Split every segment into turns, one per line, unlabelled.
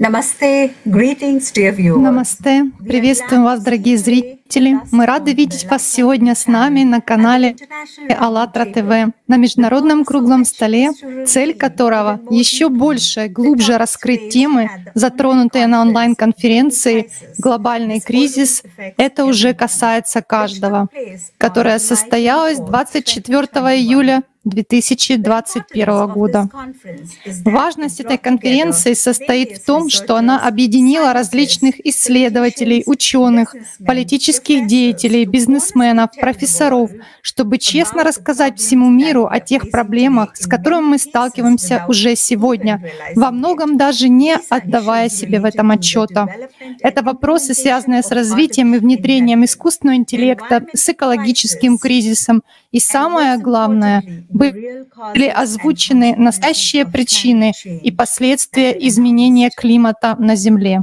Намасте, приветствуем вас, дорогие зрители. Мы рады видеть вас сегодня с нами на канале АЛЛАТРА ТВ, на международном круглом столе, цель которого еще больше, глубже раскрыть темы, затронутые на онлайн-конференции «Глобальный кризис. Это уже касается каждого», которая состоялась 24 июля 2021 года. Важность этой конференции состоит в том, что она объединила различных исследователей, ученых, политических деятелей, бизнесменов, профессоров, чтобы честно рассказать всему миру о тех проблемах, с которыми мы сталкиваемся уже сегодня, во многом даже не отдавая себе в этом отчета. Это вопросы, связанные с развитием и внедрением искусственного интеллекта, с экологическим кризисом, и самое главное, были озвучены настоящие причины и последствия изменения климата на Земле.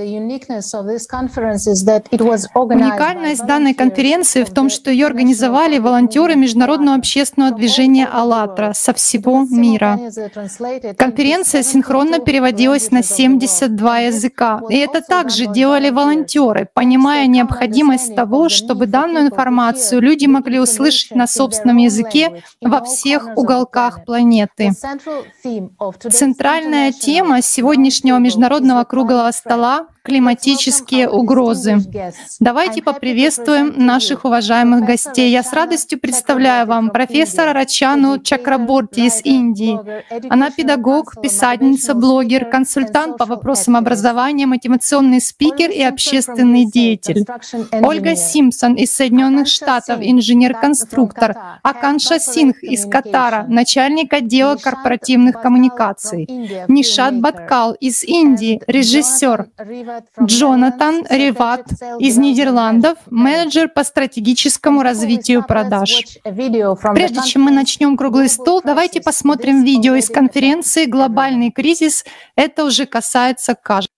Уникальность данной конференции в том, что ее организовали волонтеры международного общественного движения «АЛЛАТРА» со всего мира. Конференция синхронно переводилась на 72 языка, и это также делали волонтеры, понимая необходимость того, чтобы данную информацию люди могли услышать на собственном языке во всех уголках планеты. Центральная тема сегодняшнего международного круглого стола — климатические угрозы. Давайте поприветствуем наших уважаемых гостей. Я с радостью представляю вам профессора Рачану Чакраборти из Индии. Она педагог, писательница, блогер, консультант по вопросам образования, мотивационный спикер и общественный деятель. Ольга Симпсон из Соединенных Штатов, инженер-конструктор. Аканша Сингх из Катара, начальник отдела корпоративных коммуникаций. Нишат Баткал из Индии, режиссер. Джонатан Риват из Нидерландов, менеджер по стратегическому развитию продаж. Прежде чем мы начнем круглый стол, давайте посмотрим видео из конференции «Глобальный кризис. Это уже касается каждого».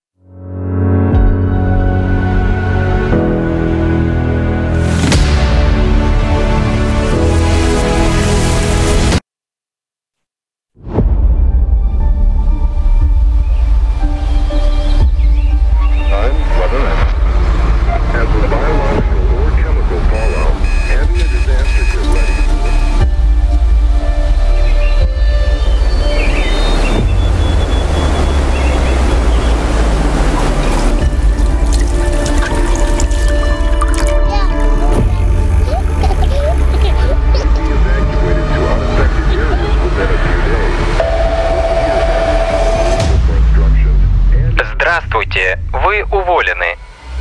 Здравствуйте, вы уволены.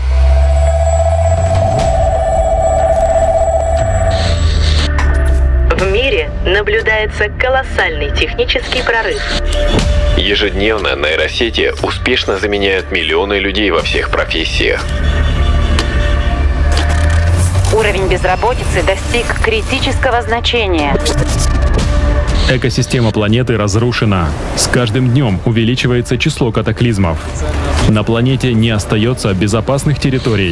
В мире наблюдается колоссальный технический прорыв.
Ежедневно нейросети успешно заменяют миллионы людей во всех профессиях.
Уровень безработицы достиг критического значения.
Экосистема планеты разрушена. С каждым днем увеличивается число катаклизмов. На планете не остается безопасных территорий.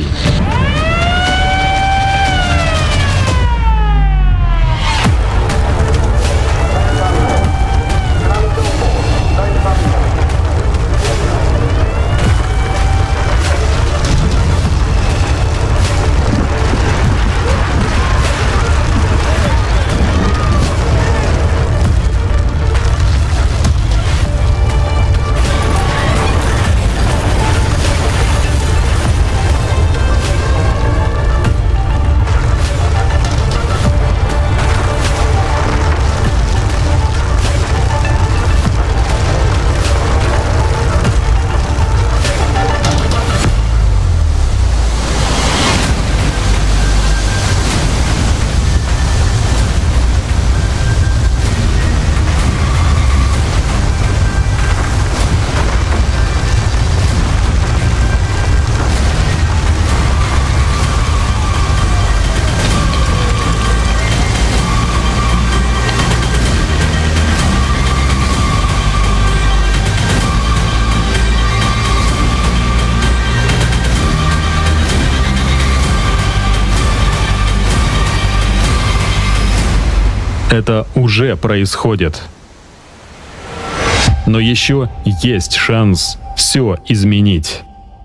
Это уже происходит. Но еще есть шанс все изменить.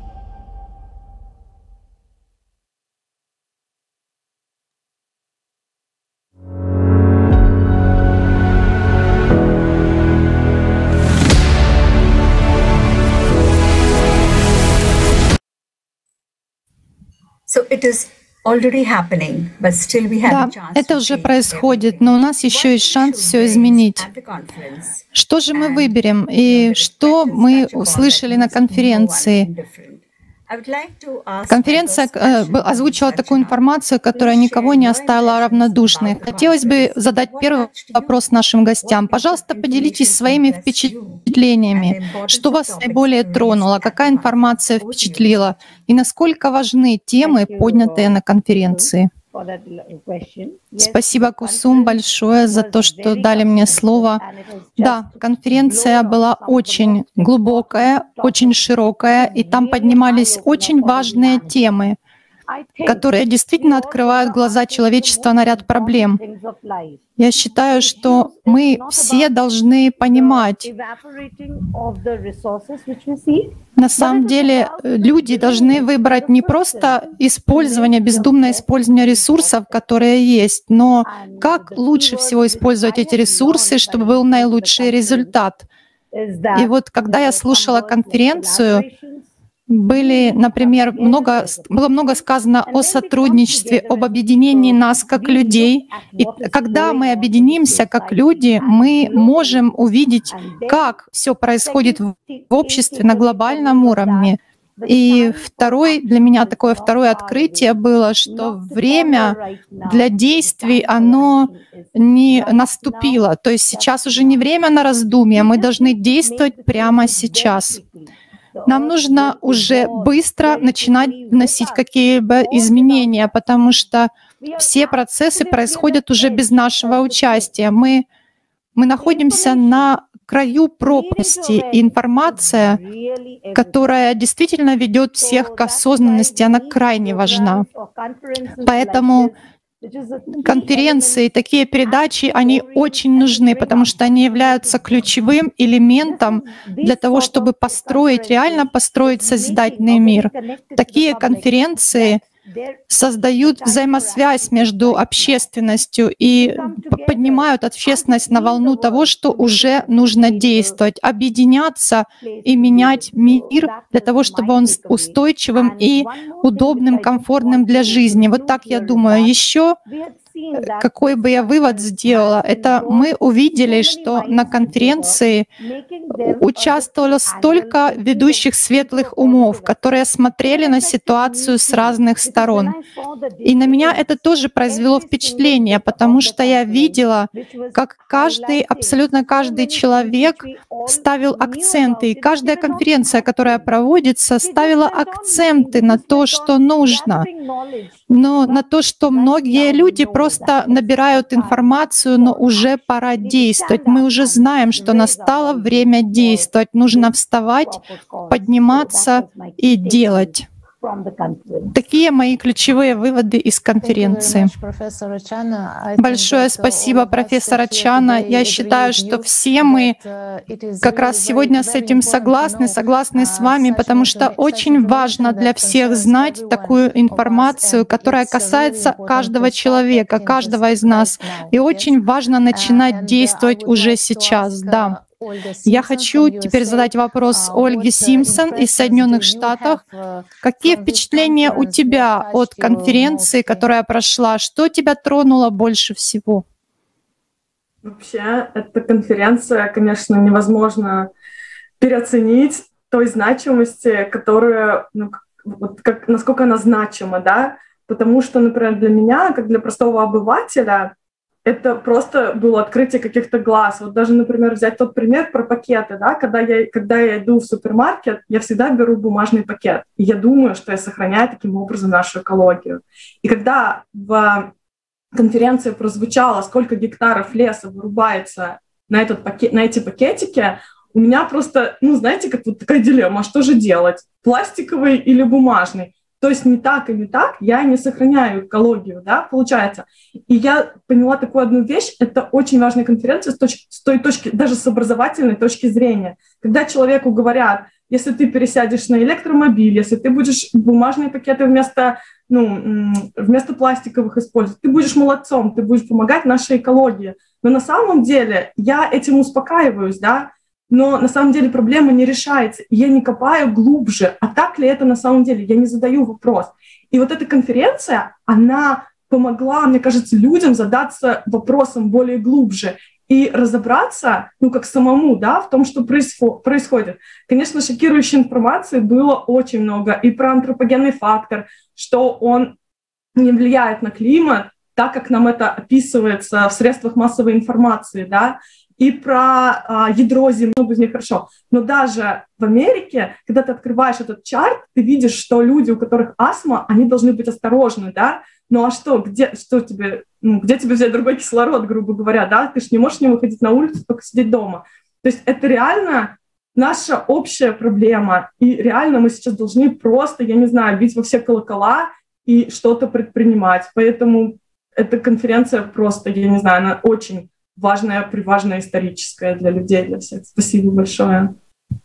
Да, это уже происходит, но у нас еще есть шанс все изменить. Что же мы выберем и что мы услышали на конференции? Конференция озвучила такую информацию, которая никого не оставила равнодушной. Хотелось бы задать первый вопрос нашим гостям. Пожалуйста, поделитесь своими впечатлениями. Что вас наиболее тронуло? Какая информация впечатлила? И насколько важны темы, поднятые на конференции? Спасибо, Кусум, большое за то, что дали мне слово. Да, конференция была очень глубокая, очень широкая, и там поднимались очень важные темы, которые действительно открывают глаза человечества на ряд проблем. Я считаю, что мы все должны понимать, на самом деле люди должны выбрать не просто использование, бездумное использование ресурсов, которые есть, но как лучше всего использовать эти ресурсы, чтобы был наилучший результат. И вот когда я слушала конференцию, было много сказано о сотрудничестве, об объединении нас как людей. И когда мы объединимся как люди, мы можем увидеть, как все происходит в обществе на глобальном уровне. И для меня такое второе открытие было, что время для действий, оно не наступило. То есть сейчас уже не время на раздумья, мы должны действовать прямо сейчас. Нам нужно уже быстро начинать вносить какие-либо изменения, потому что все процессы происходят уже без нашего участия. Мы находимся на краю пропасти, и информация, которая действительно ведет всех к осознанности, она крайне важна. Поэтому конференции, такие передачи, они очень нужны, потому что они являются ключевым элементом для того, чтобы реально построить созидательный мир. Такие конференции создают взаимосвязь между общественностью и поднимают общественность на волну того, что уже нужно действовать, объединяться и менять мир для того, чтобы он устойчивым и удобным, комфортным для жизни. Вот так я думаю. Еще какой бы я вывод сделала, это мы увидели, что на конференции участвовало столько ведущих светлых умов, которые смотрели на ситуацию с разных сторон. И на меня это тоже произвело впечатление, потому что я видела, как абсолютно каждый человек ставил акценты, и каждая конференция, которая проводится, ставила акценты на то, что нужно, но на то, что многие люди просто набирают информацию, но уже пора действовать. Мы уже знаем, что настало время действовать. Нужно вставать, подниматься и делать. Такие мои ключевые выводы из конференции. Большое спасибо, профессор Чана. Я считаю, что все мы как раз сегодня с этим согласны с вами, потому что очень важно для всех знать такую информацию, которая касается каждого человека, каждого из нас. И очень важно начинать действовать уже сейчас. Да. Я хочу теперь задать вопрос Ольге Симпсон из Соединенных Штатов. Какие впечатления у тебя от конференции, которая прошла? Что тебя тронуло больше всего?
Вообще, эта конференция, конечно, невозможно переоценить той значимости, которая, насколько она значима, да? Потому что, например, для меня, как для простого обывателя, это просто было открытие каких-то глаз. Вот даже, например, взять тот пример про пакеты, да, когда я иду в супермаркет, я всегда беру бумажный пакет. И я думаю, что я сохраняю таким образом нашу экологию. И когда в конференции прозвучало, сколько гектаров леса вырубается на эти пакетики, у меня просто, знаете, как вот такая дилемма, а что же делать, пластиковый или бумажный? То есть не так и не так, я не сохраняю экологию, да, получается. И я поняла такую одну вещь, это очень важная конференция с той точки, даже с образовательной точки зрения. Когда человеку говорят, если ты пересядешь на электромобиль, если ты будешь бумажные пакеты вместо пластиковых использовать, ты будешь молодцом, ты будешь помогать нашей экологии. Но на самом деле я этим успокаиваюсь, да, но на самом деле проблема не решается. Я не копаю глубже. А так ли это на самом деле? Я не задаю вопрос. И вот эта конференция, она помогла, мне кажется, людям задаться вопросом более глубже и разобраться, как самому, да, в том, что происходит. Конечно, шокирующей информации было очень много. И про антропогенный фактор, что он не влияет на климат, так как нам это описывается в средствах массовой информации, да, и про ядро Земли, много из них хорошо. Но даже в Америке, когда ты открываешь этот чарт, ты видишь, что люди, у которых астма, они должны быть осторожны, да. Ну а что, где тебе взять другой кислород, грубо говоря, да? Ты же не можешь не выходить на улицу, только сидеть дома. То есть это реально наша общая проблема. И реально мы сейчас должны просто, я не знаю, бить во все колокола и что-то предпринимать. Поэтому эта конференция просто, я не знаю, она очень важная, приважная, историческая для людей, для всех. Спасибо большое.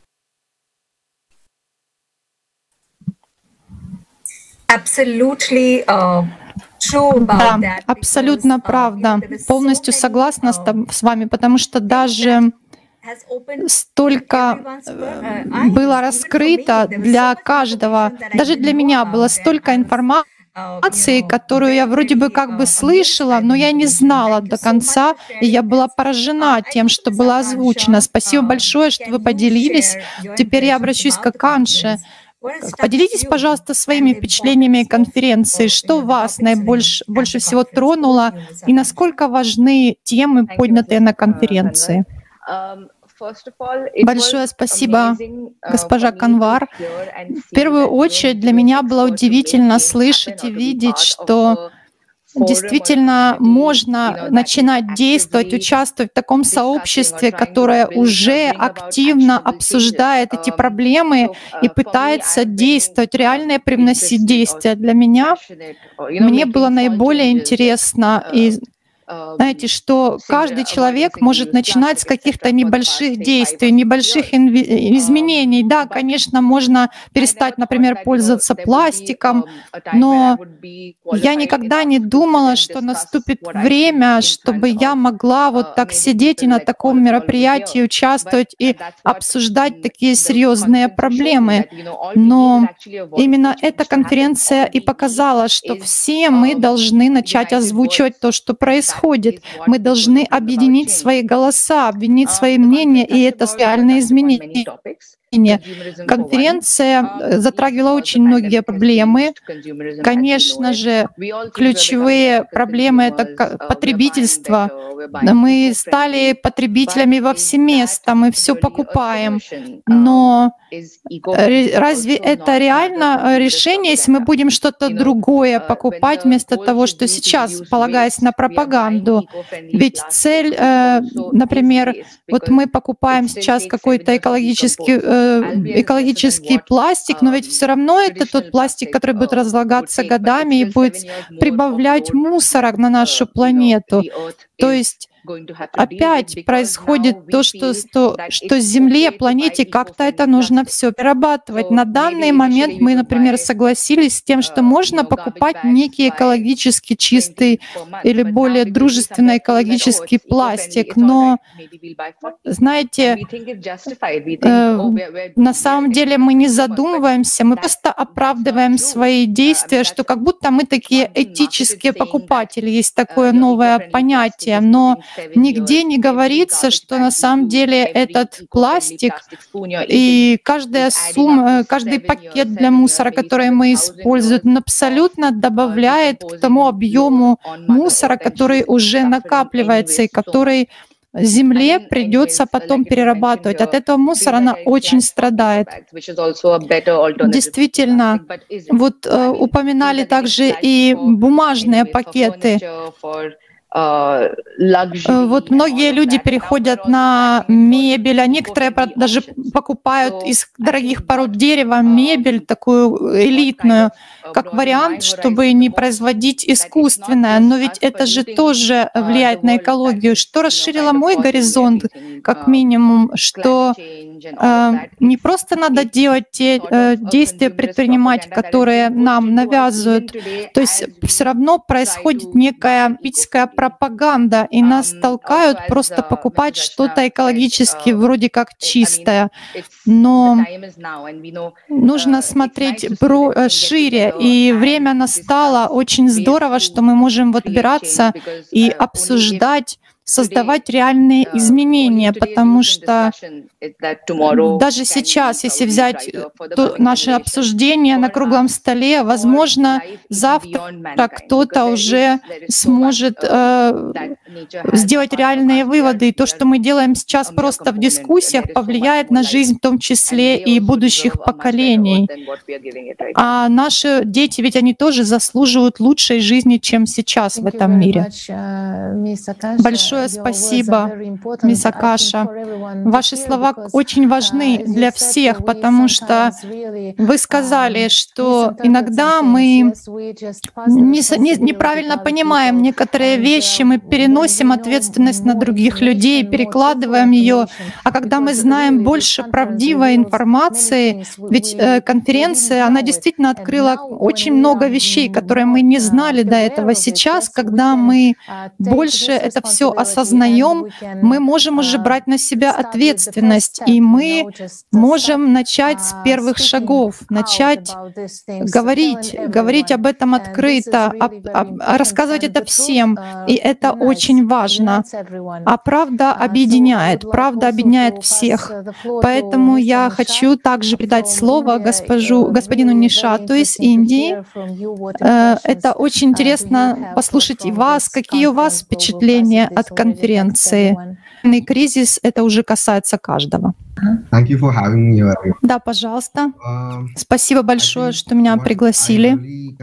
Да, абсолютно правда. Полностью согласна с вами, потому что даже столько было раскрыто для каждого, даже для меня было столько информации, которую я вроде бы как бы слышала, но я не знала до конца, и я была поражена тем, что было озвучено. Спасибо большое, что вы поделились. Теперь я обращусь к Аканше. Поделитесь, пожалуйста, своими впечатлениями конференции. Что вас больше всего тронуло и насколько важны темы, поднятые на конференции? Большое спасибо, госпожа Канвар. В первую очередь для меня было удивительно слышать и видеть, что действительно можно начинать действовать, участвовать в таком сообществе, которое уже активно обсуждает эти проблемы и пытается действовать, реально привносить действия. Для меня, мне было наиболее интересно и знаете, что каждый человек может начинать с каких-то небольших действий, небольших изменений. Да, конечно, можно перестать, например, пользоваться пластиком, но я никогда не думала, что наступит время, чтобы я могла вот так сидеть и на таком мероприятии участвовать и обсуждать такие серьезные проблемы. Но именно эта конференция и показала, что все мы должны начать озвучивать то, что происходит. Мы должны объединить свои голоса, объединить свои мнения, и это реальные изменения. Конференция затрагивала очень многие проблемы. Конечно же, ключевые проблемы — это потребительство. Мы стали потребителями во все места, мы все покупаем. Но разве это реально решение, если мы будем что-то другое покупать вместо того, что сейчас, полагаясь на пропаганду? Ведь цель, например, вот мы покупаем сейчас какой-то экологический пластик, но ведь все равно это тот пластик, который будет разлагаться годами и будет прибавлять мусора на нашу планету. То есть опять происходит то, что Земле, планете, как-то это нужно все перерабатывать. На данный момент мы, например, согласились с тем, что можно покупать некий экологически чистый или более дружественный экологический пластик, но, знаете, на самом деле мы не задумываемся, мы просто оправдываем свои действия, что как будто мы такие этические покупатели, есть такое новое понятие, но нигде не говорится, что на самом деле этот пластик и каждый пакет для мусора, который мы используем, он абсолютно добавляет к тому объему мусора, который уже накапливается и который Земле придется потом перерабатывать. От этого мусора она очень страдает. Действительно, вот упоминали также и бумажные пакеты. Вот многие люди переходят на мебель, а некоторые даже покупают из дорогих пород дерева мебель такую элитную, как вариант, чтобы не производить искусственное. Но ведь это же тоже влияет на экологию. Что расширило мой горизонт, как минимум, что не просто надо делать те действия, предпринимать, которые нам навязывают. То есть все равно происходит некая политическая пропаганда, и нас толкают просто покупать что-то экологически вроде как чистое. Но нужно смотреть шире, и время настало. Очень здорово, что мы можем вот собираться и обсуждать, создавать реальные изменения, потому что даже сейчас, если взять наше обсуждение на круглом столе, возможно, завтра кто-то уже сможет сделать реальные выводы. И то, что мы делаем сейчас просто в дискуссиях, повлияет на жизнь в том числе и будущих поколений. А наши дети, ведь они тоже заслуживают лучшей жизни, чем сейчас в этом мире. Большое спасибо, мисс Акаша. Ваши слова очень важны для всех, потому что вы сказали, что иногда мы неправильно понимаем некоторые вещи, мы переносим ответственность на других людей, перекладываем ее. А когда мы знаем больше правдивой информации, ведь конференция, она действительно открыла очень много вещей, которые мы не знали до этого. Сейчас, когда мы больше это все осознаем, мы можем уже брать на себя ответственность, и мы можем начать с первых шагов, начать говорить об этом открыто, рассказывать это всем, и это очень важно. А правда объединяет всех. Поэтому я хочу также передать слово господину Нишату из Индии. Это очень интересно послушать и вас, какие у вас впечатления от конференции. Кризис — это уже касается каждого. Да, пожалуйста. Спасибо большое, что меня пригласили.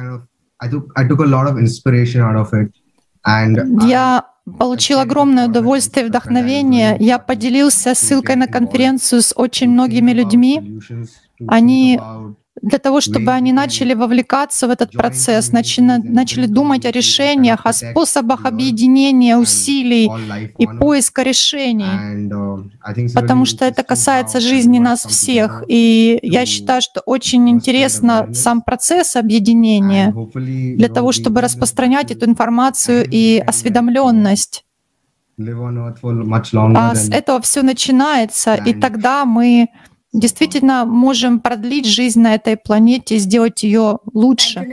Я получил огромное удовольствие и вдохновение. Я поделился ссылкой на конференцию с очень многими людьми. Они для того, чтобы они начали вовлекаться в этот процесс, начали думать о решениях, о способах объединения усилий и поиска решений, потому что это касается жизни нас всех. И я считаю, что очень интересно сам процесс объединения для того, чтобы распространять эту информацию и осведомленность. А с этого все начинается, и тогда мы действительно можем продлить жизнь на этой планете, сделать ее лучше.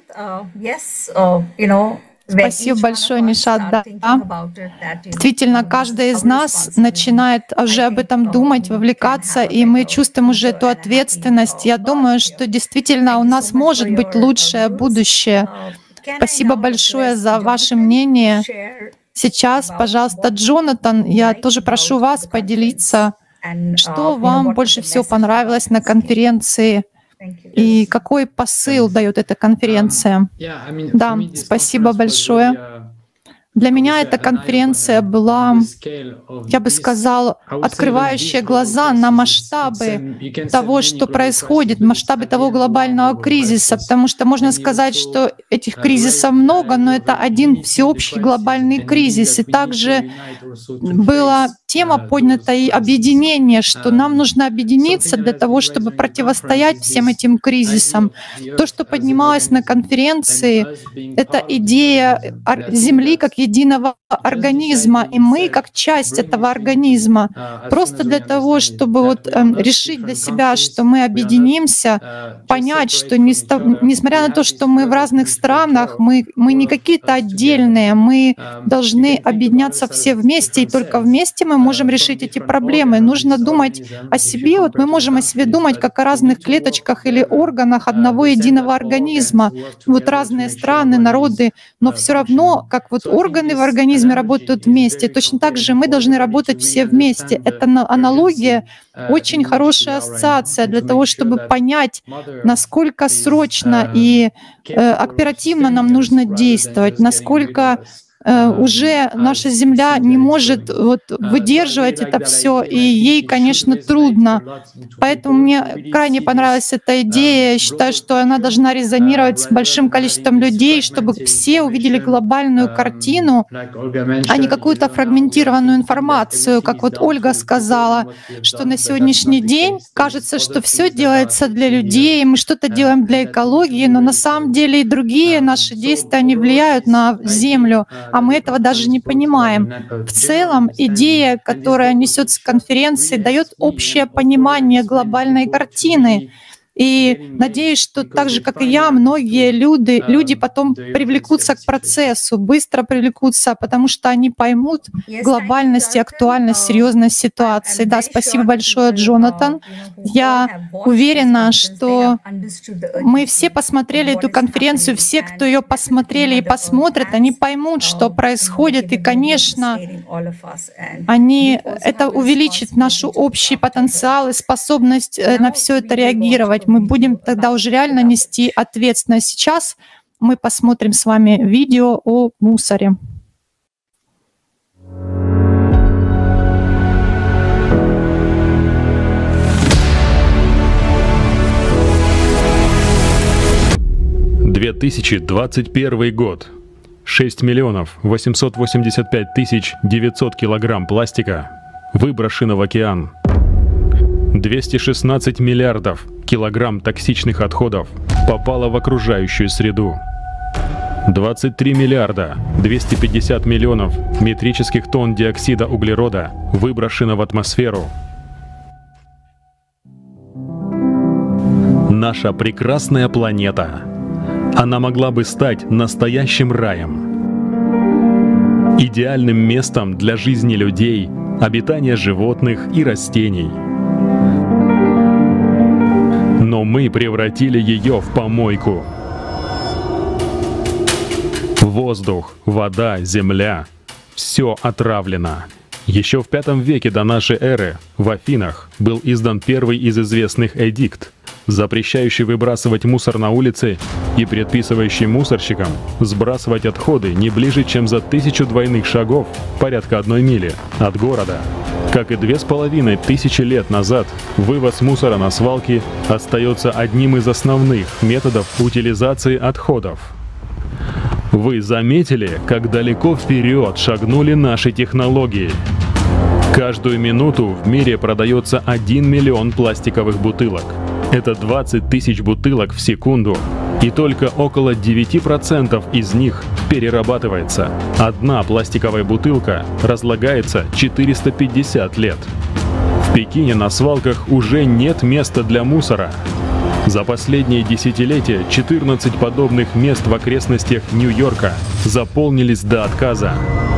Спасибо большое, Нишат. Да. Действительно, каждый из нас начинает уже об этом думать, вовлекаться, и мы чувствуем уже эту ответственность. Я думаю, что действительно у нас может быть лучшее будущее. Спасибо большое за ваше мнение. Сейчас, пожалуйста, Джонатан, я тоже прошу вас поделиться, что вам больше всего понравилось на конференции и какой посыл дает эта конференция. Да, спасибо большое. Для меня эта конференция была, я бы сказал, открывающая глаза на масштабы того, что происходит, масштабы того глобального кризиса, потому что можно сказать, что этих кризисов много, но это один всеобщий глобальный кризис. И также была тема поднята и объединение, что нам нужно объединиться для того, чтобы противостоять всем этим кризисам. То, что поднималось на конференции, это идея Земли как единого организма, и мы как часть этого организма. Просто для того, чтобы решить для себя, что мы объединимся, понять, что несмотря на то, что мы в разных странах, мы не какие-то отдельные, мы должны объединяться все вместе, и только вместе мы можем решить эти проблемы. Нужно думать о себе, мы можем о себе думать как о разных клеточках или органах одного единого организма. Разные страны, народы, но все равно, как органы в организме работают вместе, точно так же мы должны работать все вместе. Это аналогия, очень хорошая ассоциация для того, чтобы понять, насколько срочно и оперативно нам нужно действовать, насколько уже наша Земля не может выдерживать это все, и ей, конечно, трудно. Поэтому мне крайне понравилась эта идея. Я считаю, что она должна резонировать с большим количеством людей, чтобы все увидели глобальную картину, а не какую-то фрагментированную информацию. Как вот Ольга сказала, что на сегодняшний день кажется, что все делается для людей, мы что-то делаем для экологии, но на самом деле и другие наши действия, они влияют на Землю, а мы этого даже не понимаем. В целом, идея, которая несется с конференции, дает общее понимание глобальной картины. И надеюсь, что так же, как и я, многие люди потом привлекутся к процессу, быстро привлекутся, потому что они поймут глобальность и актуальность, серьезность ситуации. Да, спасибо большое, Джонатан. Я уверена, что мы все посмотрели эту конференцию, все, кто ее посмотрели и посмотрят, они поймут, что происходит, и, конечно, это увеличит наш общий потенциал и способность на все это реагировать. Мы будем тогда уже реально нести ответственность. Сейчас мы посмотрим с вами видео о мусоре.
— 2021 год. 6 миллионов 885 тысяч 900 килограмм пластика выброшено в океан. 216 миллиардов килограмм токсичных отходов попало в окружающую среду. 23 миллиарда 250 миллионов метрических тонн диоксида углерода выброшено в атмосферу. Наша прекрасная планета. Она могла бы стать настоящим раем. Идеальным местом для жизни людей, обитания животных и растений. Но мы превратили ее в помойку. Воздух, вода, земля — все отравлено. Еще в V веке до нашей эры в Афинах был издан первый из известных эдикт, запрещающий выбрасывать мусор на улице и предписывающий мусорщикам сбрасывать отходы не ближе, чем за 1000 двойных шагов, порядка 1 мили, от города. Как и 2500 лет назад, вывоз мусора на свалки остается одним из основных методов утилизации отходов. Вы заметили, как далеко вперед шагнули наши технологии? Каждую минуту в мире продается 1 миллион пластиковых бутылок. Это 20 тысяч бутылок в секунду. И только около 9% из них перерабатывается. Одна пластиковая бутылка разлагается 450 лет. В Пекине на свалках уже нет места для мусора. За последние десятилетия 14 подобных мест в окрестностях Нью-Йорка заполнились до отказа.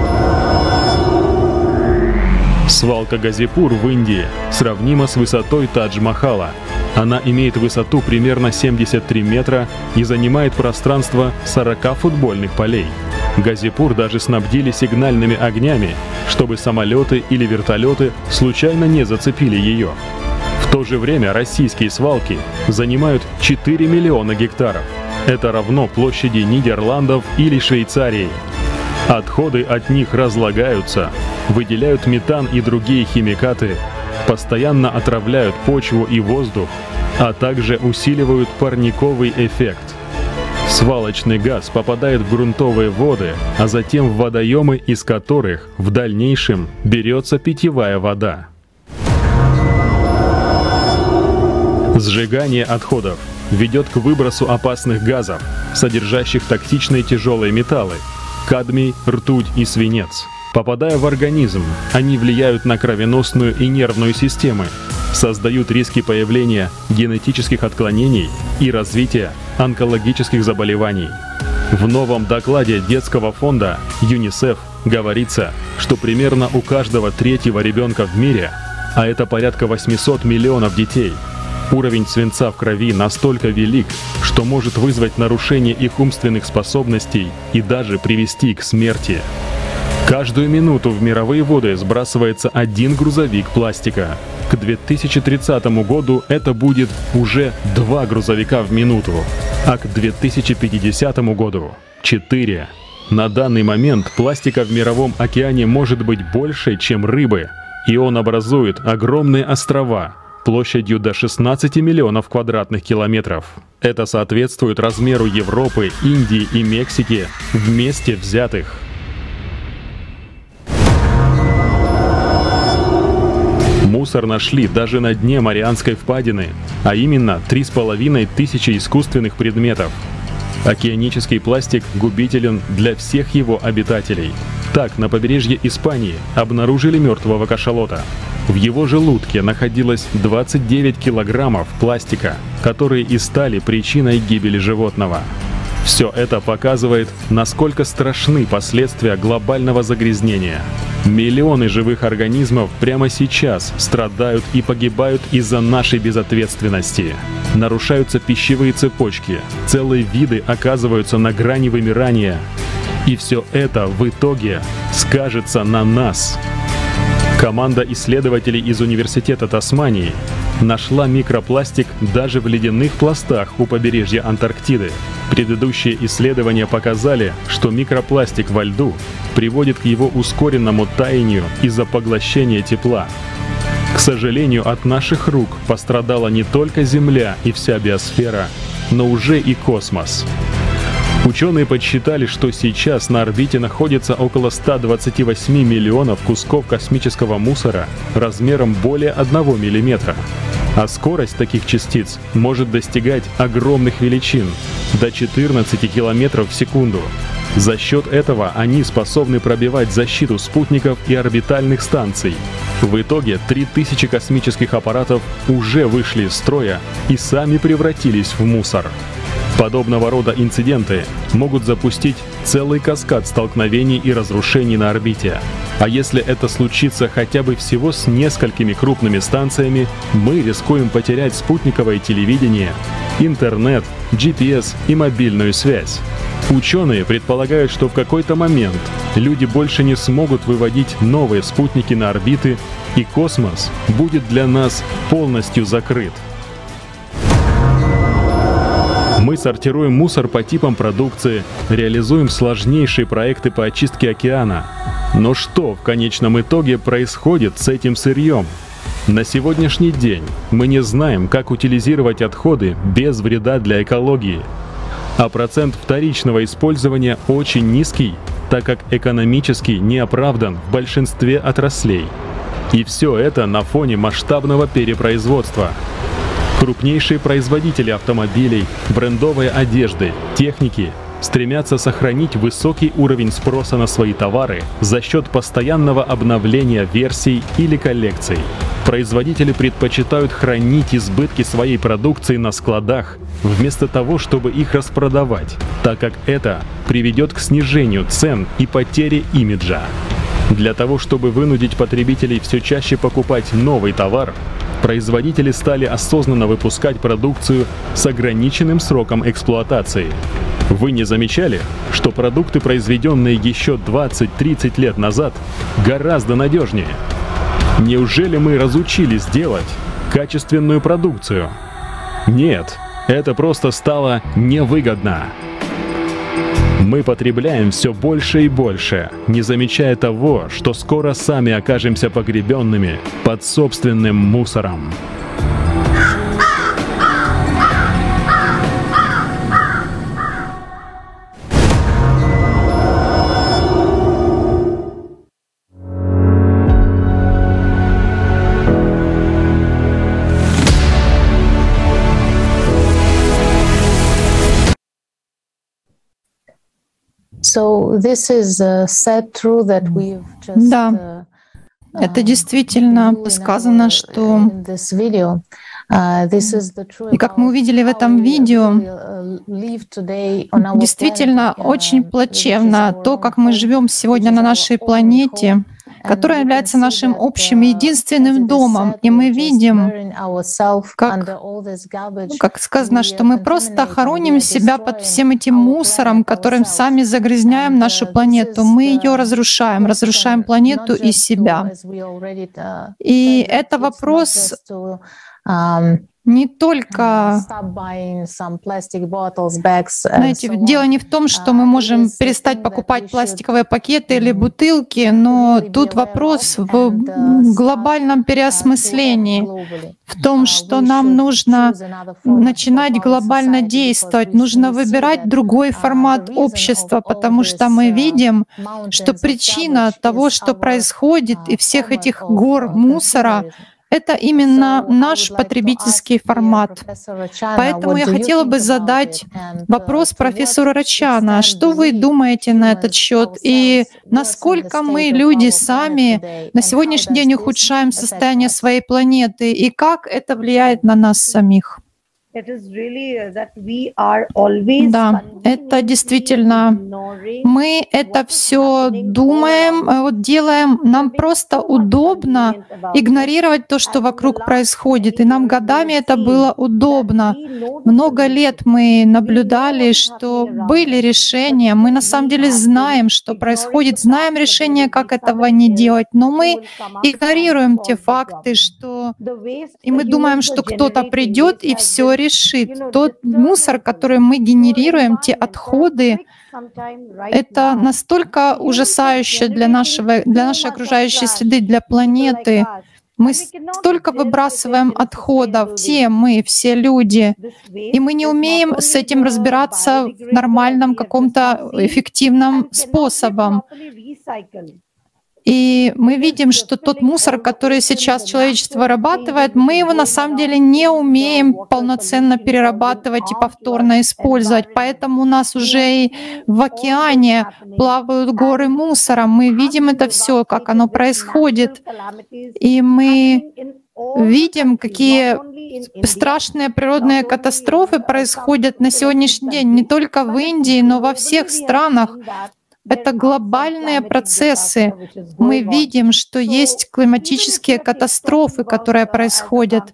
Свалка Газипур в Индии сравнима с высотой Тадж-Махала. Она имеет высоту примерно 73 метра и занимает пространство 40 футбольных полей. Газипур даже снабдили сигнальными огнями, чтобы самолеты или вертолеты случайно не зацепили ее. В то же время российские свалки занимают 4 миллиона гектаров. Это равно площади Нидерландов или Швейцарии. Отходы от них разлагаются, выделяют метан и другие химикаты, постоянно отравляют почву и воздух, а также усиливают парниковый эффект. Свалочный газ попадает в грунтовые воды, а затем в водоемы, из которых в дальнейшем берется питьевая вода. Сжигание отходов ведет к выбросу опасных газов, содержащих токсичные тяжелые металлы – кадмий, ртуть и свинец. Попадая в организм, они влияют на кровеносную и нервную системы, создают риски появления генетических отклонений и развития онкологических заболеваний. В новом докладе детского фонда ЮНИСЕФ говорится, что примерно у каждого 3-го ребенка в мире, а это порядка 800 миллионов детей, уровень свинца в крови настолько велик, что может вызвать нарушение их умственных способностей и даже привести к смерти. Каждую минуту в мировые воды сбрасывается 1 грузовик пластика. К 2030 году это будет уже 2 грузовика в минуту, а к 2050 году — 4. На данный момент пластика в мировом океане может быть больше, чем рыбы, и он образует огромные острова площадью до 16 миллионов квадратных километров. Это соответствует размеру Европы, Индии и Мексики вместе взятых. Мусор нашли даже на дне Марианской впадины, а именно 3500 искусственных предметов. Океанический пластик губителен для всех его обитателей. Так, на побережье Испании обнаружили мертвого кашалота. В его желудке находилось 29 килограммов пластика, которые и стали причиной гибели животного. Все это показывает, насколько страшны последствия глобального загрязнения. Миллионы живых организмов прямо сейчас страдают и погибают из-за нашей безответственности. Нарушаются пищевые цепочки, целые виды оказываются на грани вымирания. И все это в итоге скажется на нас. Команда исследователей из Университета Тасмании нашла микропластик даже в ледяных пластах у побережья Антарктиды. Предыдущие исследования показали, что микропластик во льду приводит к его ускоренному таянию из-за поглощения тепла. К сожалению, от наших рук пострадала не только Земля и вся биосфера, но уже и космос. Ученые подсчитали, что сейчас на орбите находится около 128 миллионов кусков космического мусора размером более 1 миллиметра. А скорость таких частиц может достигать огромных величин – до 14 километров в секунду. За счет этого они способны пробивать защиту спутников и орбитальных станций. В итоге 3000 космических аппаратов уже вышли из строя и сами превратились в мусор. Подобного рода инциденты могут запустить целый каскад столкновений и разрушений на орбите. А если это случится хотя бы всего с несколькими крупными станциями, мы рискуем потерять спутниковое телевидение, интернет, GPS и мобильную связь. Ученые предполагают, что в какой-то момент люди больше не смогут выводить новые спутники на орбиты, и космос будет для нас полностью закрыт. Мы сортируем мусор по типам продукции, реализуем сложнейшие проекты по очистке океана. Но что в конечном итоге происходит с этим сырьем? На сегодняшний день мы не знаем, как утилизировать отходы без вреда для экологии. А процент вторичного использования очень низкий, так как экономически не оправдан в большинстве отраслей. И все это на фоне масштабного перепроизводства. Крупнейшие производители автомобилей, брендовой одежды, техники стремятся сохранить высокий уровень спроса на свои товары за счет постоянного обновления версий или коллекций. Производители предпочитают хранить избытки своей продукции на складах, вместо того, чтобы их распродавать, так как это приведет к снижению цен и потере имиджа. Для того, чтобы вынудить потребителей все чаще покупать новый товар, производители стали осознанно выпускать продукцию с ограниченным сроком эксплуатации. Вы не замечали, что продукты, произведенные еще 20-30 лет назад, гораздо надежнее? Неужели мы разучились делать качественную продукцию? Нет, это просто стало невыгодно. Мы потребляем все больше и больше, не замечая того, что скоро сами окажемся погребенными под собственным мусором.
Да, это действительно сказано, что... И как мы увидели в этом видео, действительно очень плачевно то, как мы живем сегодня на нашей планете, которая является нашим общим единственным домом. И мы видим, как сказано, что мы просто хороним себя под всем этим мусором, которым сами загрязняем нашу планету. Мы ее разрушаем, разрушаем планету и себя. И это вопрос не только, знаете, дело не в том, что мы можем перестать покупать пластиковые пакеты или бутылки, но тут вопрос в глобальном переосмыслении, в том, что нам нужно начинать глобально действовать, нужно выбирать другой формат общества, потому что мы видим, что причина того, что происходит, и всех этих гор мусора, это именно наш потребительский формат. Поэтому я хотела бы задать вопрос профессору Рачана. Что вы думаете на этот счет? И насколько мы, люди, сами на сегодняшний день ухудшаем состояние своей планеты? И как это влияет на нас самих? Да, это действительно, мы это все думаем, вот делаем, нам просто удобно игнорировать то, что вокруг происходит, и нам годами это было удобно. Много лет мы наблюдали, что были решения, мы на самом деле знаем, что происходит, знаем решение, как этого не делать, но мы игнорируем те факты, что и мы думаем, что кто-то придет и все решит. Тот мусор, который мы генерируем, те отходы, это настолько ужасающе для нашей окружающей среды, для планеты. Мы столько выбрасываем отходов, все люди, и мы не умеем с этим разбираться в нормальном каком-то эффективном способом. И мы видим, что тот мусор, который сейчас человечество вырабатывает, мы его на самом деле не умеем полноценно перерабатывать и повторно использовать. Поэтому у нас уже и в океане плавают горы мусора. Мы видим это все, как оно происходит. И мы видим, какие страшные природные катастрофы происходят на сегодняшний день не только в Индии, но во всех странах. Это глобальные процессы. Мы видим, что есть климатические катастрофы, которые происходят.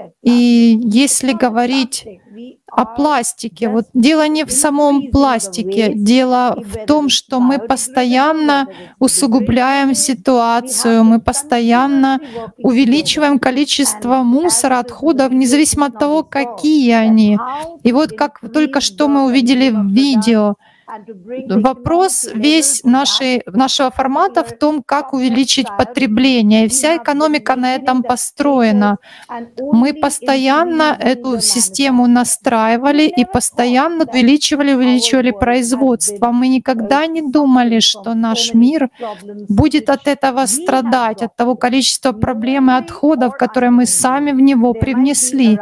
И если говорить о пластике, вот дело не в самом пластике, дело в том, что мы постоянно усугубляем ситуацию, мы постоянно увеличиваем количество мусора, отходов, независимо от того, какие они. И вот как только что мы увидели в видео, вопрос весь нашего формата в том, как увеличить потребление. И вся экономика на этом построена. Мы постоянно эту систему настраивали и постоянно увеличивали производство. Мы никогда не думали, что наш мир будет от этого страдать, от того количества проблем и отходов, которые мы сами в него привнесли.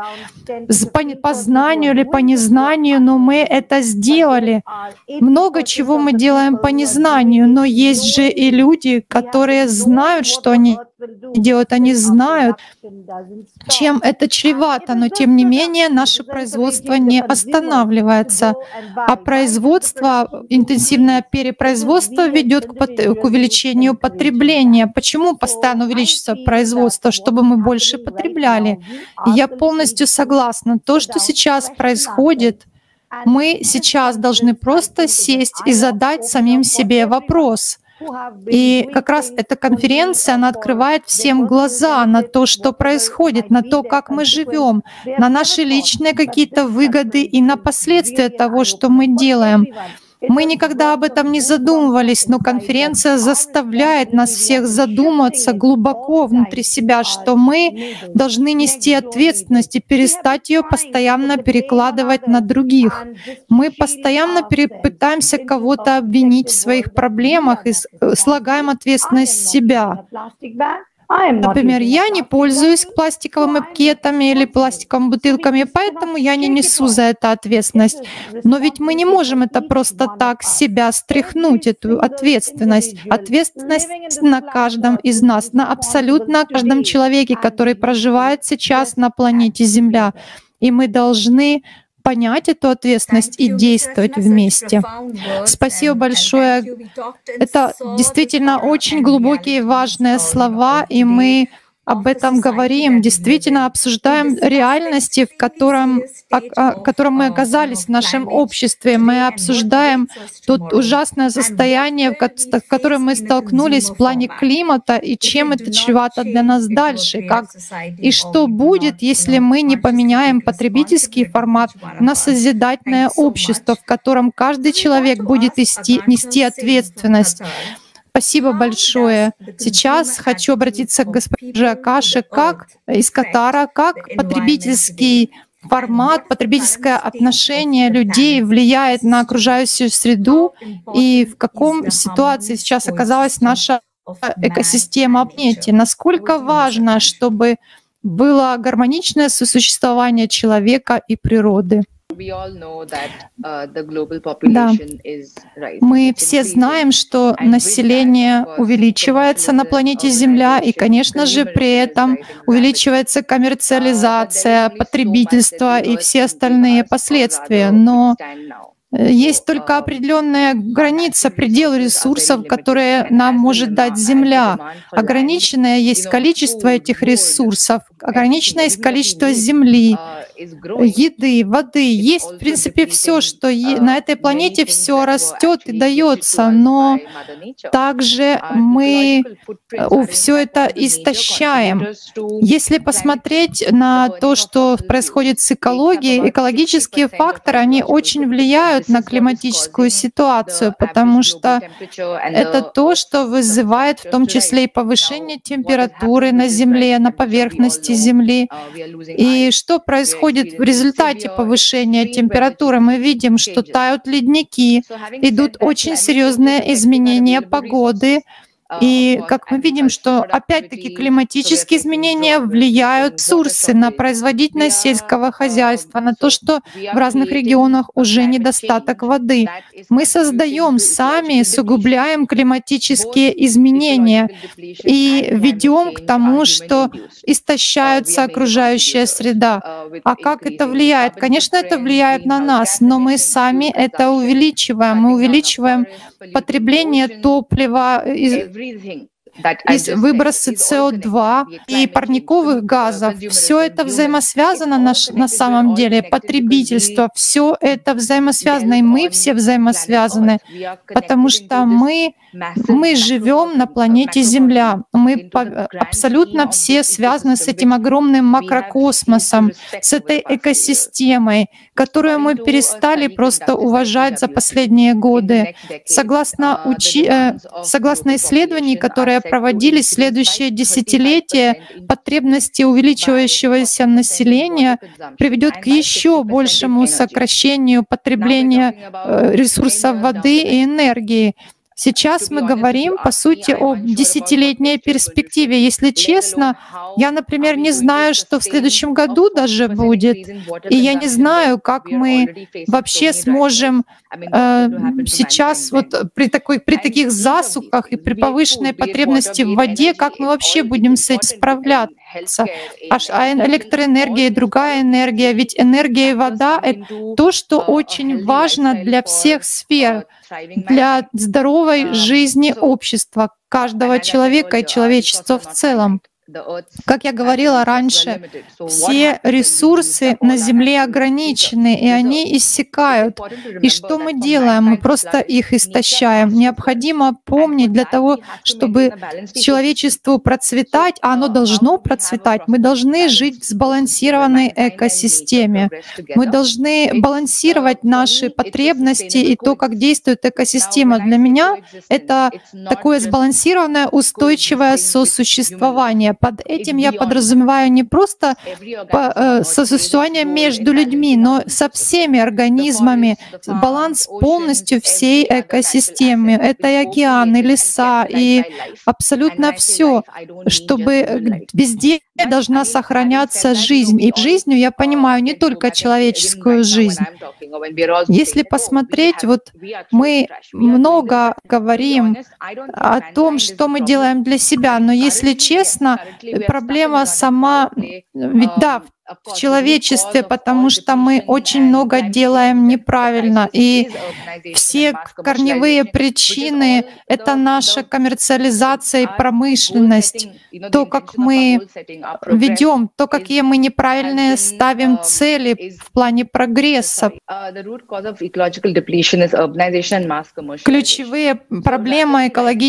По знанию или по незнанию, но мы это сделали. Много чего мы делаем по незнанию, но есть же и люди, которые знают, что они делают, они знают, чем это чревато, но тем не менее наше производство не останавливается. А производство, интенсивное перепроизводство ведет к увеличению потребления. Почему постоянно увеличивается производство? Чтобы мы больше потребляли. И я полностью согласна. То, что сейчас происходит, мы сейчас должны просто сесть и задать самим себе вопрос. И как раз эта конференция, она открывает всем глаза на то, что происходит, на то, как мы живем, на наши личные какие-то выгоды и на последствия того, что мы делаем. Мы никогда об этом не задумывались, но конференция заставляет нас всех задуматься глубоко внутри себя, что мы должны нести ответственность и перестать ее постоянно перекладывать на других. Мы постоянно пытаемся кого-то обвинить в своих проблемах и слагаем ответственность с себя. Например, я не пользуюсь пластиковыми пакетами или пластиковыми бутылками, поэтому я не несу за это ответственность. Но ведь мы не можем это просто так с себя стряхнуть, эту ответственность. Ответственность на каждом из нас, на абсолютно каждом человеке, который проживает сейчас на планете Земля. И мы должны понять эту ответственность и действовать вместе. Спасибо большое. Это действительно очень глубокие и важные слова, и мы об этом говорим, действительно обсуждаем реальности, в котором мы оказались в нашем обществе. Мы обсуждаем то ужасное состояние, в котором мы столкнулись в плане климата, и чем это чревато для нас дальше. И что будет, если мы не поменяем потребительский формат на созидательное общество, в котором каждый человек будет нести ответственность. Спасибо большое. Сейчас хочу обратиться к госпоже Акаше, как из Катара, как потребительский формат, потребительское отношение людей влияет на окружающую среду и в каком ситуации сейчас оказалась наша экосистема планете. Насколько важно, чтобы было гармоничное сосуществование человека и природы. Да. Мы все знаем, что население увеличивается на планете Земля, и, конечно же, при этом увеличивается коммерциализация, потребительство и все остальные последствия. Но есть только определенная граница, предел ресурсов, которые нам может дать Земля. Ограниченное есть количество этих ресурсов, ограниченное есть количество земли, еды, воды. Есть, в принципе, все, что на этой планете, все растет и дается, но также мы все это истощаем. Если посмотреть на то, что происходит с экологией, экологические факторы, они очень влияют на климатическую ситуацию, потому что это то, что вызывает в том числе и повышение температуры на Земле, на поверхности Земли. И что происходит в результате повышения температуры? Мы видим, что тают ледники, идут очень серьезные изменения погоды. И как мы видим, что опять-таки климатические изменения влияют ресурсы на производительность сельского хозяйства, на то, что в разных регионах уже недостаток воды. Мы создаем сами, усугубляем климатические изменения и ведем к тому, что истощается окружающая среда. А как это влияет? Конечно, это влияет на нас, но мы сами это увеличиваем. Мы увеличиваем потребление топлива, выбросы СО2 и парниковых газов. Все это взаимосвязано на самом деле. Потребительство, все это взаимосвязано, и мы все взаимосвязаны, потому что мы живем на планете Земля. Мы абсолютно все связаны с этим огромным макрокосмосом, с этой экосистемой, которую мы перестали просто уважать за последние годы. Согласно исследований, которые проводились в следующее десятилетие, потребности увеличивающегося населения приведет к еще большему сокращению потребления ресурсов воды и энергии. Сейчас мы говорим, по сути, о десятилетней перспективе. Если честно, я, например, не знаю, что в следующем году даже будет. И я не знаю, как мы вообще сможем сейчас вот при таких засухах и при повышенной потребности в воде, как мы вообще будем с этим справляться. А электроэнергия и другая энергия, ведь энергия и вода — это то, что очень важно для всех сфер, для здоровой жизни общества, каждого человека и человечества в целом. Как я говорила раньше, все ресурсы на Земле ограничены, и они иссякают. И что мы делаем? Мы просто их истощаем. Необходимо помнить, для того, чтобы человечеству процветать, а оно должно процветать, мы должны жить в сбалансированной экосистеме. Мы должны балансировать наши потребности и то, как действует экосистема. Для меня это такое сбалансированное, устойчивое сосуществование. Под этим я подразумеваю не просто сосуществование между людьми, но со всеми организмами, баланс полностью всей экосистемы. Это и океаны, и леса, и абсолютно все, чтобы везде должна сохраняться жизнь. И жизнью я понимаю не только человеческую жизнь. Если посмотреть, вот мы много говорим о том, что мы делаем для себя, но если честно, проблема сама, ведь да, в человечестве, потому что мы очень много делаем неправильно. И все корневые причины — это наша коммерциализация и промышленность, то, как мы ведем, то, какие мы неправильные ставим цели в плане прогресса. Ключевые проблемы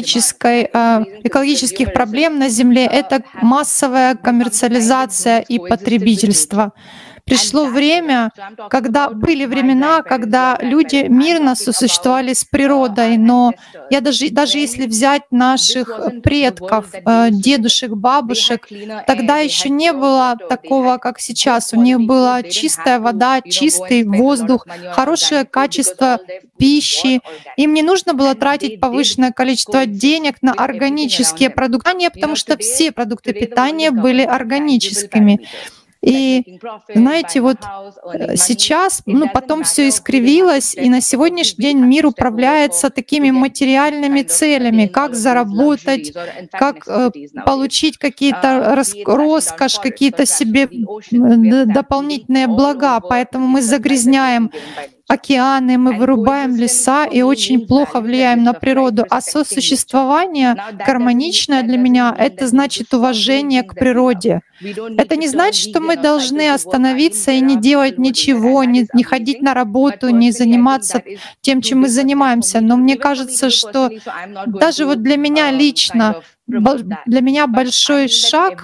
экологических проблем на Земле — это массовая коммерциализация и потребительство. Пришло время, были времена, когда люди мирно сосуществовали с природой, но даже если взять наших предков, дедушек, бабушек, тогда еще не было такого, как сейчас. У них была чистая вода, чистый воздух, хорошее качество пищи. Им не нужно было тратить повышенное количество денег на органические продукты, потому что все продукты питания были органическими. И знаете, вот сейчас, потом все искривилось, и на сегодняшний день мир управляется такими материальными целями, как заработать, как получить какие-то роскошь, какие-то себе дополнительные блага. Поэтому мы загрязняем океаны, мы вырубаем леса и очень плохо влияем на природу. А сосуществование гармоничное для меня — это значит уважение к природе. Это не значит, что мы должны остановиться и не делать ничего, не ходить на работу, не заниматься тем, чем мы занимаемся. Но мне кажется, что даже вот для меня лично, для меня большой шаг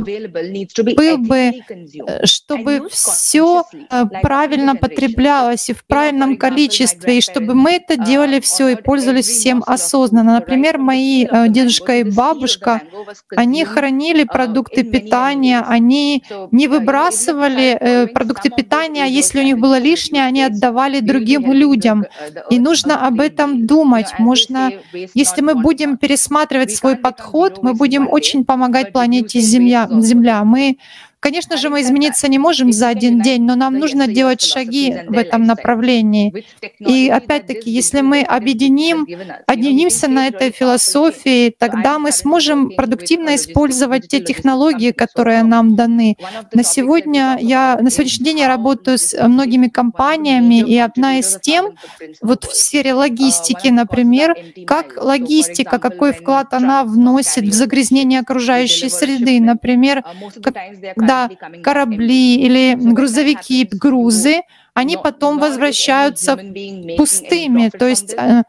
был бы, чтобы все правильно потреблялось и в правильном количестве, и чтобы мы это делали все и пользовались всем осознанно. Например, мои дедушка и бабушка, они хранили продукты питания, они не выбрасывали продукты питания, а если у них было лишнее, они отдавали другим людям. И нужно об этом думать. Если мы будем пересматривать свой подход, мы будем очень помогать планете Земля. Конечно же, мы измениться не можем за один день, но нам нужно делать шаги в этом направлении. И опять-таки, если мы объединимся на этой философии, тогда мы сможем продуктивно использовать те технологии, которые нам даны. На сегодняшний день я работаю с многими компаниями, и одна из тем, вот в сфере логистики, например, как логистика, какой вклад она вносит в загрязнение окружающей среды. Например, когда корабли или грузовики, грузы, они потом возвращаются пустыми. То есть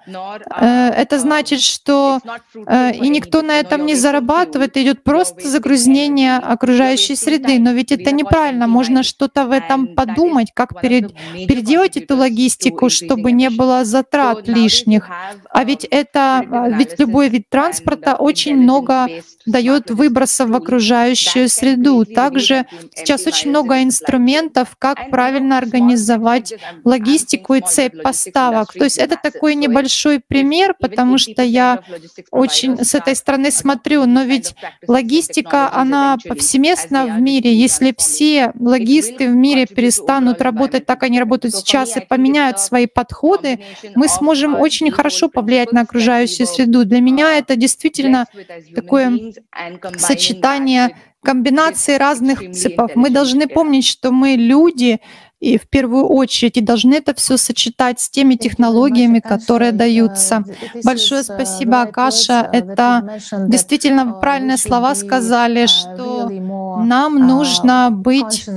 это значит, что и никто на этом не зарабатывает, идет просто загрязнение окружающей среды. Но ведь это неправильно. Можно что-то в этом подумать, как переделать эту логистику, чтобы не было затрат лишних. А ведь любой вид транспорта очень много дает выбросов в окружающую среду. Также сейчас очень много инструментов, как правильно организовать логистику и цепь поставок. То есть это такой небольшой пример, потому что я очень с этой стороны смотрю, но ведь логистика, она повсеместна в мире. Если все логисты в мире перестанут работать так, как они работают сейчас, и поменяют свои подходы, мы сможем очень хорошо повлиять на окружающую среду. Для меня это действительно такое сочетание комбинации разных принципов. Мы должны помнить, что мы люди, и в первую очередь, и должны это все сочетать с теми технологиями, которые даются. Большое спасибо, Акаша. Это действительно правильные слова сказали, что нам нужно быть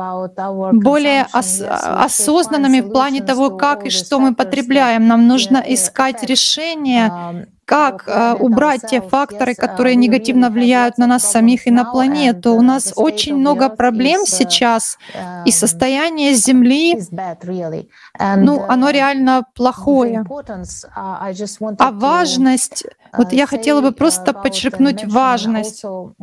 более осознанными в плане того, как и что мы потребляем. Нам нужно искать решения, как убрать те факторы, которые негативно влияют на нас самих и на планету. У нас очень много проблем сейчас, и состояние Земли, оно реально плохое. А важность, вот я хотела бы просто подчеркнуть важность. Хочу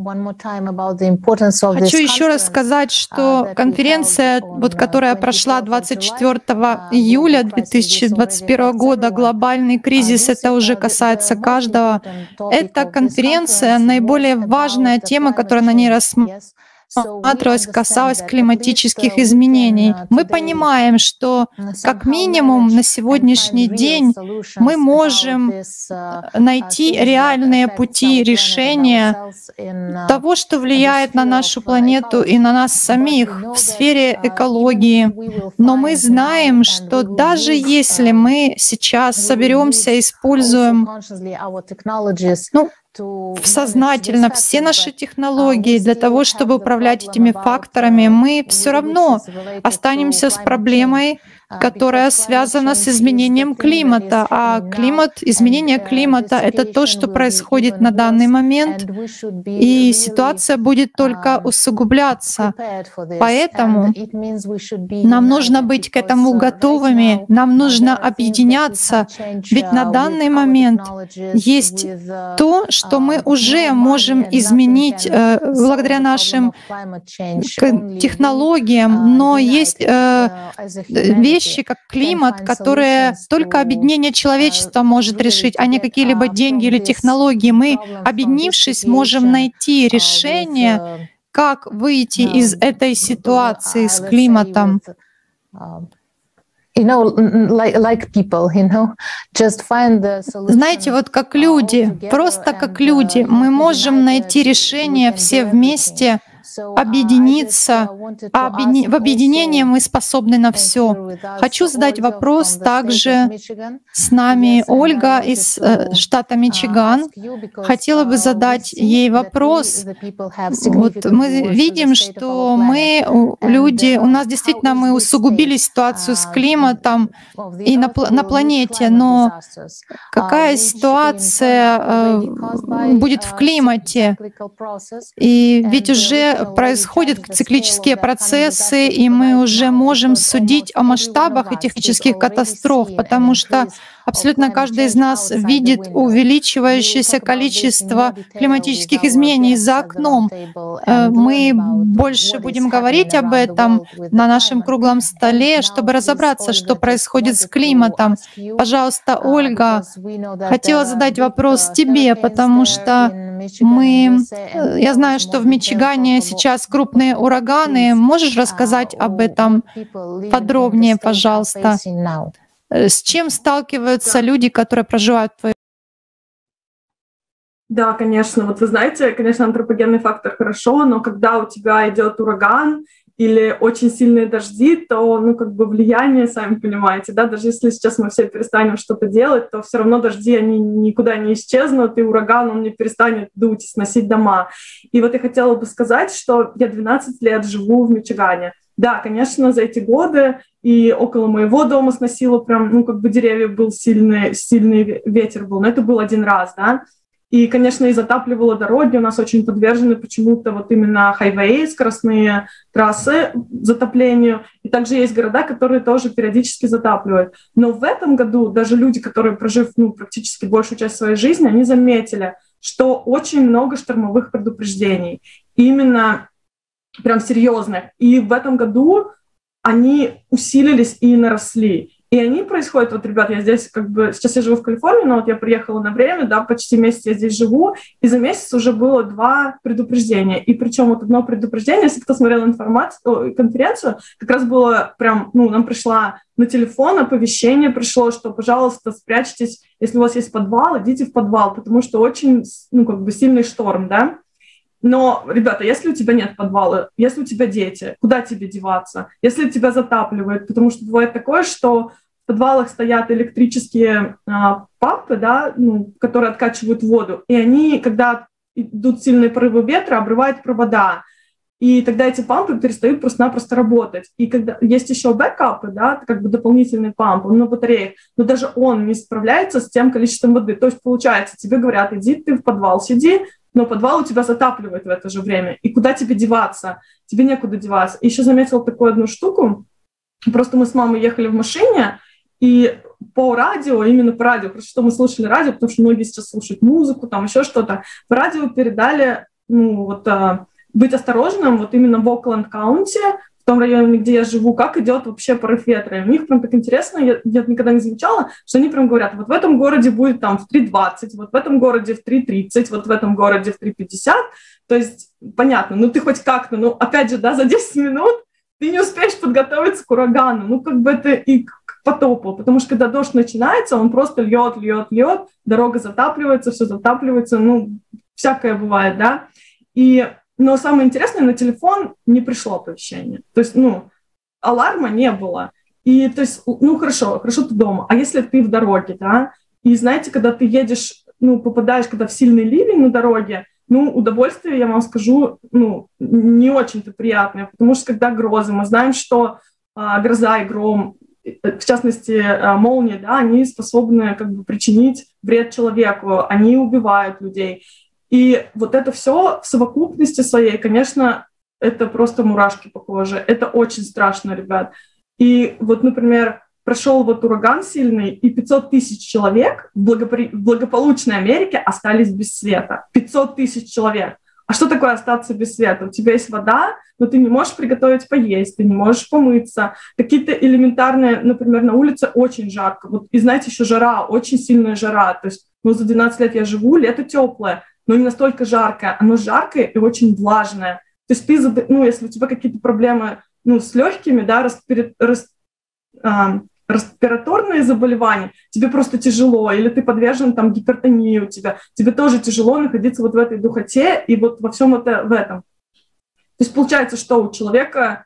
еще раз сказать, что конференция, которая прошла 24 июля 2021 года, «Глобальный кризис», это уже касается каждого. Эта конференция — наиболее важная тема, которая на ней рассматривается. рассматривалось, касалось климатических изменений. Мы понимаем, что как минимум на сегодняшний день мы можем найти реальные пути решения того, что влияет на нашу планету и на нас самих в сфере экологии. Но мы знаем, что даже если мы сейчас соберемся, используем сознательно все наши технологии для того, чтобы управлять этими факторами, мы все равно останемся с проблемой, которая связана с изменением климата. А изменение климата — это то, что происходит на данный момент, и ситуация будет только усугубляться. Поэтому нам нужно быть к этому готовыми, нам нужно объединяться, ведь на данный момент есть то, что мы уже можем изменить благодаря нашим технологиям, но есть вещи, как климат, которые только объединение человечества может решить, а не какие-либо деньги или технологии. Мы, объединившись, можем найти решение, как выйти из этой ситуации с климатом. Знаете, вот как люди, просто как люди, мы можем найти решение все вместе, объединиться. В объединении мы способны на все. Хочу задать вопрос также. С нами Ольга из штата Мичиган. Хотела бы задать ей вопрос. Вот мы видим, что у нас действительно мы усугубили ситуацию с климатом и на планете, но какая ситуация будет в климате? И ведь уже происходят циклические процессы, и мы уже можем судить о масштабах этих технических катастроф, потому что абсолютно каждый из нас видит увеличивающееся количество климатических изменений за окном. Мы больше будем говорить об этом на нашем круглом столе, чтобы разобраться, что происходит с климатом. Пожалуйста, Ольга, хотела задать вопрос тебе, потому что я знаю, что в Мичигане сейчас крупные ураганы. Можешь рассказать об этом подробнее, пожалуйста? С чем сталкиваются люди, которые проживают в твоем?
Да, конечно. Вот вы знаете, конечно, антропогенный фактор хорошо, но когда у тебя идет ураган или очень сильные дожди, то, влияние, сами понимаете, да, даже если сейчас мы все перестанем что-то делать, то все равно дожди, они никуда не исчезнут, и ураган, он не перестанет дуть и сносить дома. И вот я хотела бы сказать, что я 12 лет живу в Мичигане. Да, конечно, за эти годы и около моего дома сносило прям, деревья был сильный ветер был, но это был один раз, да. И, конечно, и затапливало дороги, у нас очень подвержены почему-то вот именно хайвеи, скоростные трассы затоплению. И также есть города, которые тоже периодически затапливают. Но в этом году даже люди, которые, прожив практически большую часть своей жизни, они заметили, что очень много штормовых предупреждений, именно прям серьезных. И в этом году они усилились и наросли. И они происходят, вот, ребят, я здесь сейчас я живу в Калифорнии, но вот я приехала на время, да, почти месяц я здесь живу, и за месяц уже было 2 предупреждения. И причем вот одно предупреждение, если кто смотрел конференцию, как раз было прям, нам пришло на телефон оповещение пришло, что, пожалуйста, спрячьтесь, если у вас есть подвал, идите в подвал, потому что очень, сильный шторм, да. Но, ребята, если у тебя нет подвала, если у тебя дети, куда тебе деваться? Если тебя затапливает, потому что бывает такое, что в подвалах стоят электрические пампы, да, которые откачивают воду, и они, когда идут сильные порывы ветра, обрывают провода, и тогда эти пампы перестают просто-напросто работать. И когда есть еще бэкапы, да, дополнительный памп, он на батареях, но даже он не справляется с тем количеством воды. То есть, получается, тебе говорят, иди ты в подвал, сиди, но подвал у тебя затапливает в это же время. И куда тебе деваться? Тебе некуда деваться. И еще заметила такую одну штуку. Просто мы с мамой ехали в машине, и по радио, именно по радио, просто что мы слушали радио, потому что многие сейчас слушают музыку, там еще что-то, по радио передали, быть осторожным, вот именно в Окленд-каунти, в том районе, где я живу, как идет вообще порыв ветра. И у них прям так интересно, я никогда не замечала, что они прям говорят, вот в этом городе будет там в 3:20, вот в этом городе в 3:30, вот в этом городе в 3:50. То есть, понятно, ну ты хоть как-то, ну опять же, да, за 10 минут ты не успеешь подготовиться к урагану. Ну как бы это и к потопу, потому что когда дождь начинается, он просто льет, дорога затапливается, все затапливается, ну всякое бывает, да. Но самое интересное, на телефон не пришло оповещение. То есть, ну, аларма не было. И, то есть, ну, хорошо ты дома. А если ты в дороге, да, и знаете, когда ты едешь, ну, попадаешь, когда в сильный ливень на дороге, ну, удовольствие, я вам скажу, ну, не очень-то приятное, потому что когда грозы, мы знаем, что гроза и гром, в частности, молнии, да, они способны как бы причинить вред человеку, они убивают людей. И вот это все в совокупности своей, конечно, это просто мурашки по коже. Это очень страшно, ребят. И вот, например, прошел вот ураган сильный, и 500 тысяч человек в благополучной Америке остались без света. 500 тысяч человек. А что такое остаться без света? У тебя есть вода, но ты не можешь приготовить поесть, ты не можешь помыться. Какие-то элементарные, например, на улице очень жарко. Вот, и знаете, еще жара, очень сильная жара. То есть, ну, за 12 лет я живу, лето теплое, но не настолько жаркое. Оно жаркое и очень влажное. То есть ты, ну, если у тебя какие-то проблемы, ну, с легкими, да, респираторные заболевания, тебе просто тяжело, или ты подвержен там гипертонии у тебя, тебе тоже тяжело находиться вот в этой духоте и вот во всем это в этом. То есть получается, что у человека,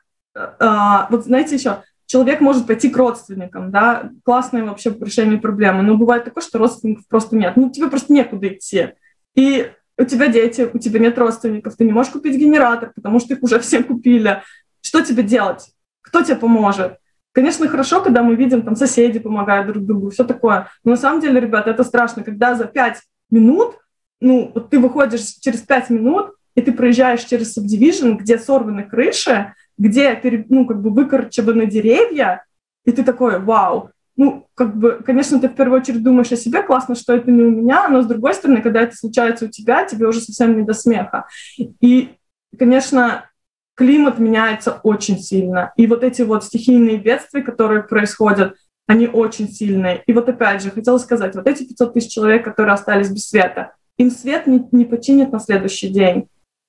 вот знаете еще, человек может пойти к родственникам, да, классное вообще решение проблемы, но бывает такое, что родственников просто нет, ну тебе просто некуда идти. И у тебя дети, у тебя нет родственников, ты не можешь купить генератор, потому что их уже все купили. Что тебе делать? Кто тебе поможет? Конечно, хорошо, когда мы видим, там соседи помогают друг другу, все такое. Но на самом деле, ребята, это страшно, когда за 5 минут, ну, вот ты выходишь через 5 минут, и ты проезжаешь через сабдивижн, где сорваны крыши, где, ну, как бы выкорчеваны деревья, и ты такой, вау. Ну, как бы, конечно, ты в первую очередь думаешь о себе, классно, что это не у меня, но с другой стороны, когда это случается у тебя, тебе уже совсем не до смеха. И, конечно, климат меняется очень сильно. И вот эти вот стихийные бедствия, которые происходят, они очень сильные. И вот опять же, хотела сказать, вот эти 500 тысяч человек, которые остались без света, им свет не починит на следующий день.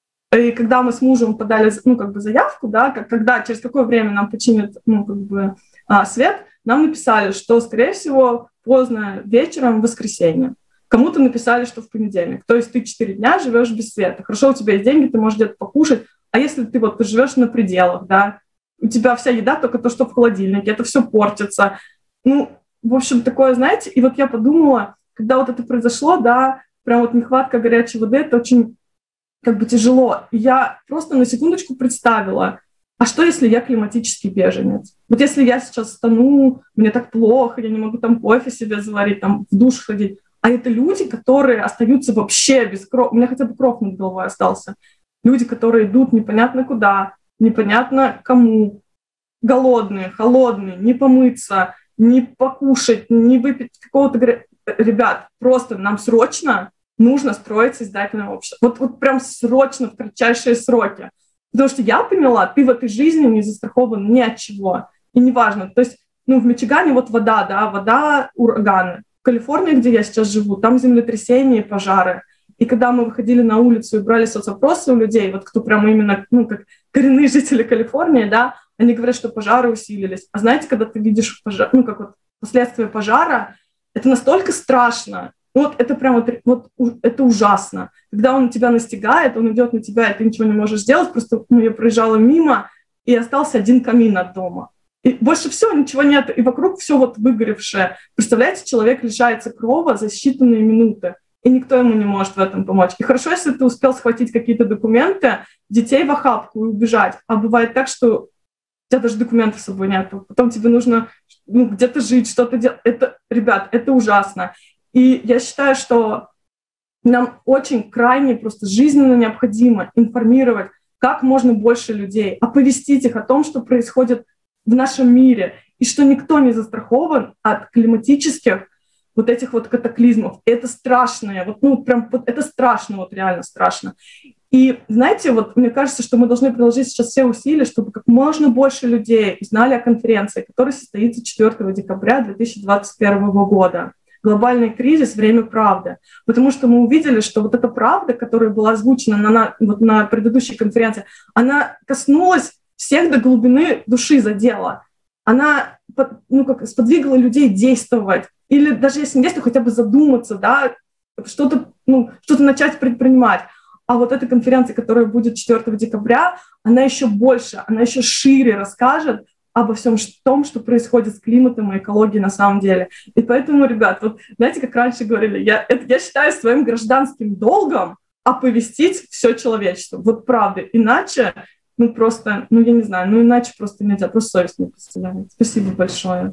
И когда мы с мужем подали, ну, как бы заявку, да, когда, через какое время нам починят, ну, как бы, свет, нам написали, что, скорее всего, поздно вечером в воскресенье. Кому-то написали, что в понедельник. То есть ты 4 дня живешь без света. Хорошо, у тебя есть деньги, ты можешь где-то покушать. А если ты вот живешь на пределах, да, у тебя вся еда только то, что в холодильнике, это все портится. Ну, в общем, такое, знаете, и вот я подумала, когда вот это произошло, да, прям вот нехватка горячей воды, это очень как бы тяжело. И я просто на секундочку представила, а что, если я климатический беженец? Вот если я сейчас стану, мне так плохо, я не могу там кофе себе заварить, там в душ ходить, а это люди, которые остаются вообще без крова, у меня хотя бы кров над головой остался. Люди, которые идут непонятно куда, непонятно кому, голодные, холодные, не помыться, не покушать, не выпить какого-то... Ребят, просто нам срочно нужно строить созидательное общество. Вот прям срочно, в кратчайшие сроки. Потому что я поняла, ты в этой жизни не застрахован ни от чего. И неважно. То есть, ну, в Мичигане вот вода, да, вода, ураганы. В Калифорнии, где я сейчас живу, там землетрясения и пожары. И когда мы выходили на улицу и брали соцопросы у людей, вот кто прямо именно, ну, как коренные жители Калифорнии, да, они говорят, что пожары усилились. А знаете, когда ты видишь пожар, ну, как вот последствия пожара, это настолько страшно. Вот это прям вот это ужасно. Когда он тебя настигает, он идет на тебя, и ты ничего не можешь сделать. Просто я проезжала мимо, и остался один камин от дома. И больше всего ничего нет, и вокруг все вот выгоревшее. Представляете, человек лишается крова за считанные минуты, и никто ему не может в этом помочь. И хорошо, если ты успел схватить какие-то документы, детей в охапку и убежать. А бывает так, что у тебя даже документов с собой нет. Потом тебе нужно, ну, где-то жить, что-то делать. Это, ребят, это ужасно. И я считаю, что нам очень крайне просто жизненно необходимо информировать как можно больше людей, оповестить их о том, что происходит в нашем мире, и что никто не застрахован от климатических вот этих вот катаклизмов. И это страшно, вот, ну, прям, вот, это страшно, вот реально страшно. И знаете, вот мне кажется, что мы должны приложить сейчас все усилия, чтобы как можно больше людей узнали о конференции, которая состоится 4 декабря 2021 года. Глобальный кризис, время правды. Потому что мы увидели, что вот эта правда, которая была озвучена на предыдущей конференции, она коснулась всех до глубины души, задела. Она сподвигла людей действовать. Или даже если не действовать, хотя бы задуматься, да, что-то начать предпринимать. А вот эта конференция, которая будет 4 декабря, она еще больше, она еще шире расскажет обо всем том, что происходит с климатом и экологией на самом деле. И поэтому, ребят, вот знаете, как раньше говорили, я считаю своим гражданским долгом оповестить все человечество. Вот правда. Иначе, я не знаю, иначе просто нельзя, просто совесть не представляет. Спасибо большое.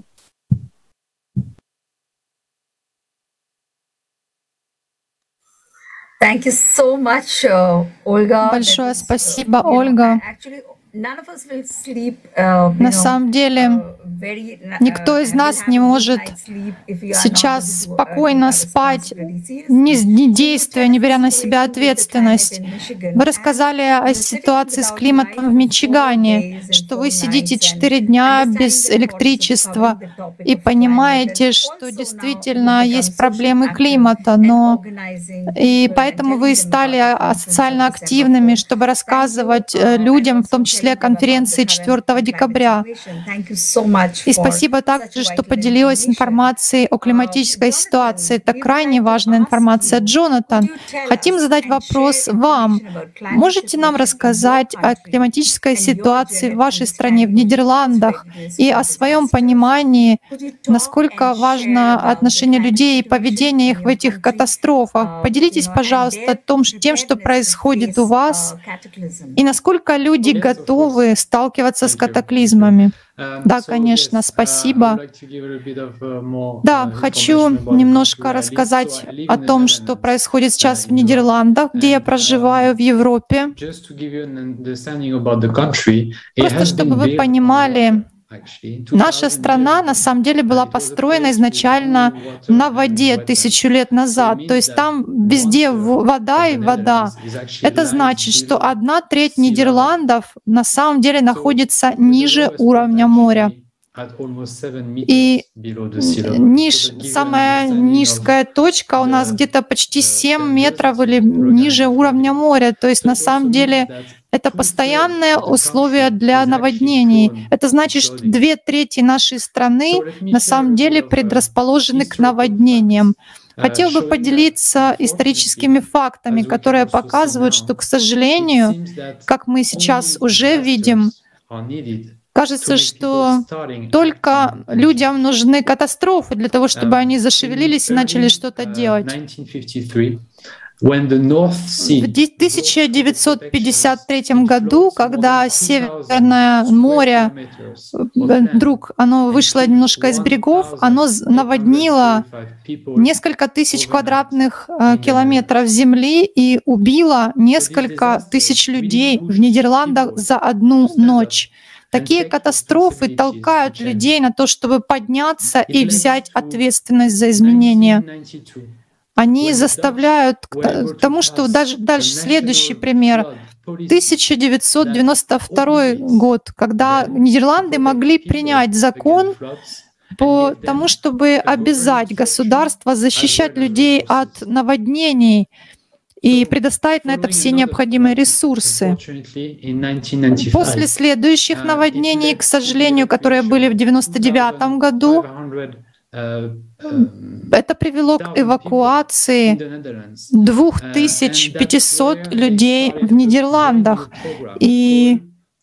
Thank you so much, Olga.
Большое спасибо, Ольга. На самом деле, никто из нас не может сейчас спокойно спать, не действуя, не беря на себя ответственность. Вы рассказали о ситуации с климатом в Мичигане, что вы сидите 4 дня без электричества и понимаете, что действительно есть проблемы климата, и поэтому вы стали социально активными, чтобы рассказывать людям, в том числе конференции 4 декабря. И спасибо также, что поделилась информацией о климатической ситуации. Это крайне важная информация. Джонатан, хотим задать вопрос вам. Можете нам рассказать о климатической ситуации в вашей стране, в Нидерландах, и о своем понимании, насколько важно отношение людей и поведение их в этих катастрофах? Поделитесь, пожалуйста, тем, что происходит у вас, и насколько люди готовы сталкиваться с катаклизмами. Да, конечно, спасибо. Да, хочу немножко рассказать о том, что происходит сейчас в Нидерландах, где я проживаю, в Европе. Просто чтобы вы понимали, наша страна на самом деле была построена изначально на воде 1000 лет назад. То есть там везде вода и вода. Это значит, что 1/3 Нидерландов на самом деле находится ниже уровня моря. И самая низкая точка у нас где-то почти 7 метров или ниже уровня моря. То есть на самом деле это постоянное условие для наводнений. Это значит, что 2/3 нашей страны на самом деле предрасположены к наводнениям. Хотел бы поделиться историческими фактами, которые показывают, что, к сожалению, как мы сейчас уже видим, кажется, что только людям нужны катастрофы для того, чтобы они зашевелились и начали что-то делать. В 1953 году, когда Северное море оно вышло немножко из берегов, оно наводнило несколько тысяч квадратных километров земли и убило несколько тысяч людей в Нидерландах за одну ночь. Такие катастрофы толкают людей на то, чтобы подняться и взять ответственность за изменения. Они заставляют к тому, что дальше следующий пример. 1992 год, когда Нидерланды могли принять закон по тому, чтобы обязать государство защищать людей от наводнений и предоставить на это все необходимые ресурсы. После следующих наводнений, к сожалению, которые были в 1999 году, это привело к эвакуации 2500 людей в Нидерландах. И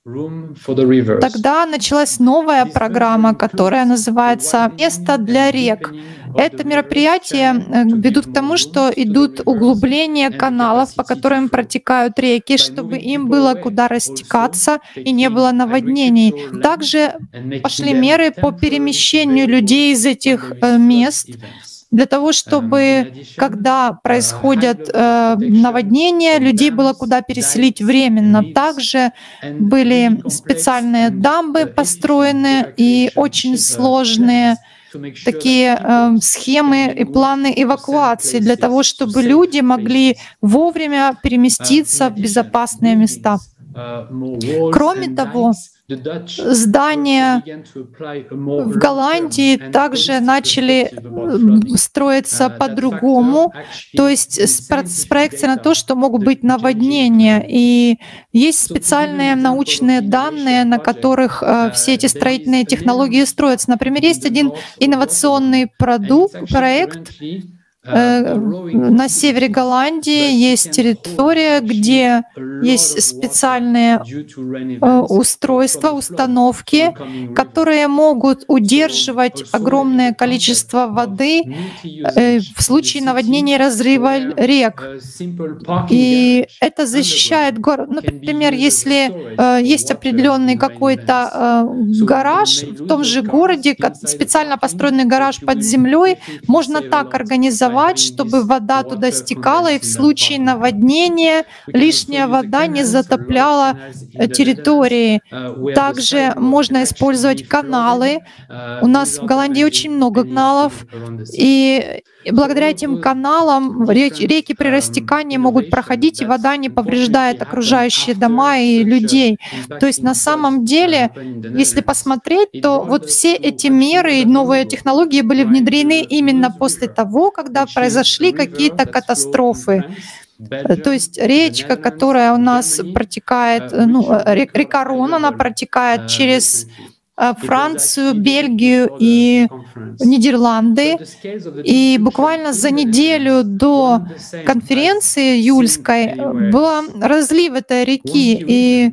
тогда началась новая программа, которая называется «Место для рек». Это мероприятие ведут к тому, что идут углубления каналов, по которым протекают реки, чтобы им было куда растекаться и не было наводнений. Также пошли меры по перемещению людей из этих мест, для того, чтобы, когда происходят наводнения, людей было куда переселить временно. Также были специальные дамбы построены и очень сложные, такие схемы и планы эвакуации для того, чтобы люди могли вовремя переместиться в безопасные места. Кроме того, здания в Голландии также начали строиться по-другому, то есть с проекцией на то, что могут быть наводнения. И есть специальные научные данные, на которых все эти строительные технологии строятся. Например, есть один инновационный проект, на севере Голландии есть территория, где есть специальные устройства, установки, которые могут удерживать огромное количество воды в случае наводнения и разрыва рек. И это защищает город. Например, если есть определенный какой-то гараж в том же городе, специально построенный гараж под землей, можно так организовать, чтобы вода туда стекала, и в случае наводнения лишняя вода не затопляла территории. Также можно использовать каналы. У нас в Голландии очень много каналов, и благодаря этим каналам реки при растекании могут проходить, и вода не повреждает окружающие дома и людей. То есть на самом деле, если посмотреть, то вот все эти меры и новые технологии были внедрены именно после того, когда произошли какие-то катастрофы. То есть речка, которая у нас протекает, река Рон, она протекает через Францию, Бельгию и Нидерланды. И буквально за неделю до конференции июльской был разлив этой реки. И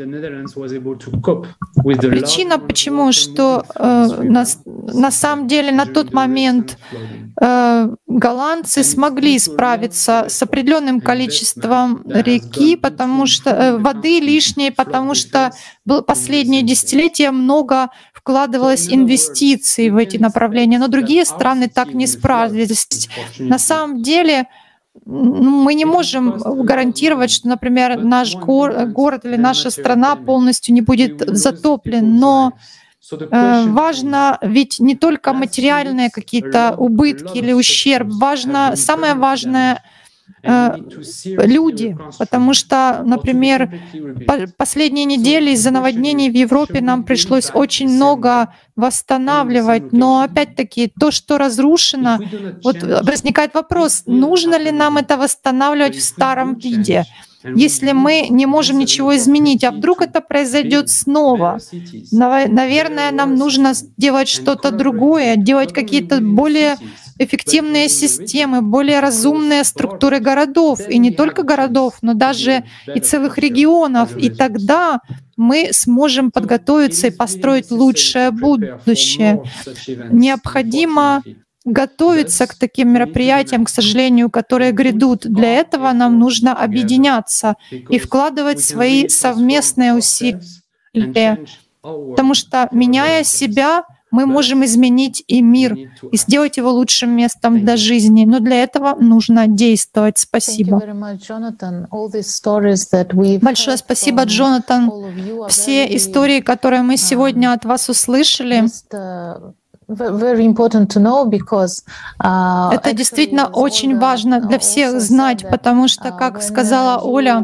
причина, почему, что на самом деле на тот момент голландцы смогли справиться с определенным количеством реки, потому что воды лишней, потому что последние десятилетия много вкладывалось инвестиций в эти направления, но другие страны так не справились. На самом деле мы не можем гарантировать, что, например, наш город или наша страна полностью не будет затоплен, но важно ведь не только материальные какие-то убытки или ущерб, самое важное — люди, потому что, например, последние недели из-за наводнений в Европе нам пришлось очень много восстанавливать, но опять-таки то, что разрушено, вот возникает вопрос, нужно ли нам это восстанавливать в старом виде, если мы не можем ничего изменить, а вдруг это произойдет снова. Наверное, нам нужно делать что-то другое, делать какие-то более эффективные системы, более разумные структуры городов, и не только городов, но даже и целых регионов. И тогда мы сможем подготовиться и построить лучшее будущее. Необходимо готовиться к таким мероприятиям, к сожалению, которые грядут. Для этого нам нужно объединяться и вкладывать свои совместные усилия, потому что, меняя себя, мы можем изменить и мир, и сделать его лучшим местом для жизни. Но для этого нужно действовать. Спасибо. Большое спасибо, Джонатан. Все истории, которые мы сегодня от вас услышали, это действительно очень важно для всех знать, потому что, как сказала Оля,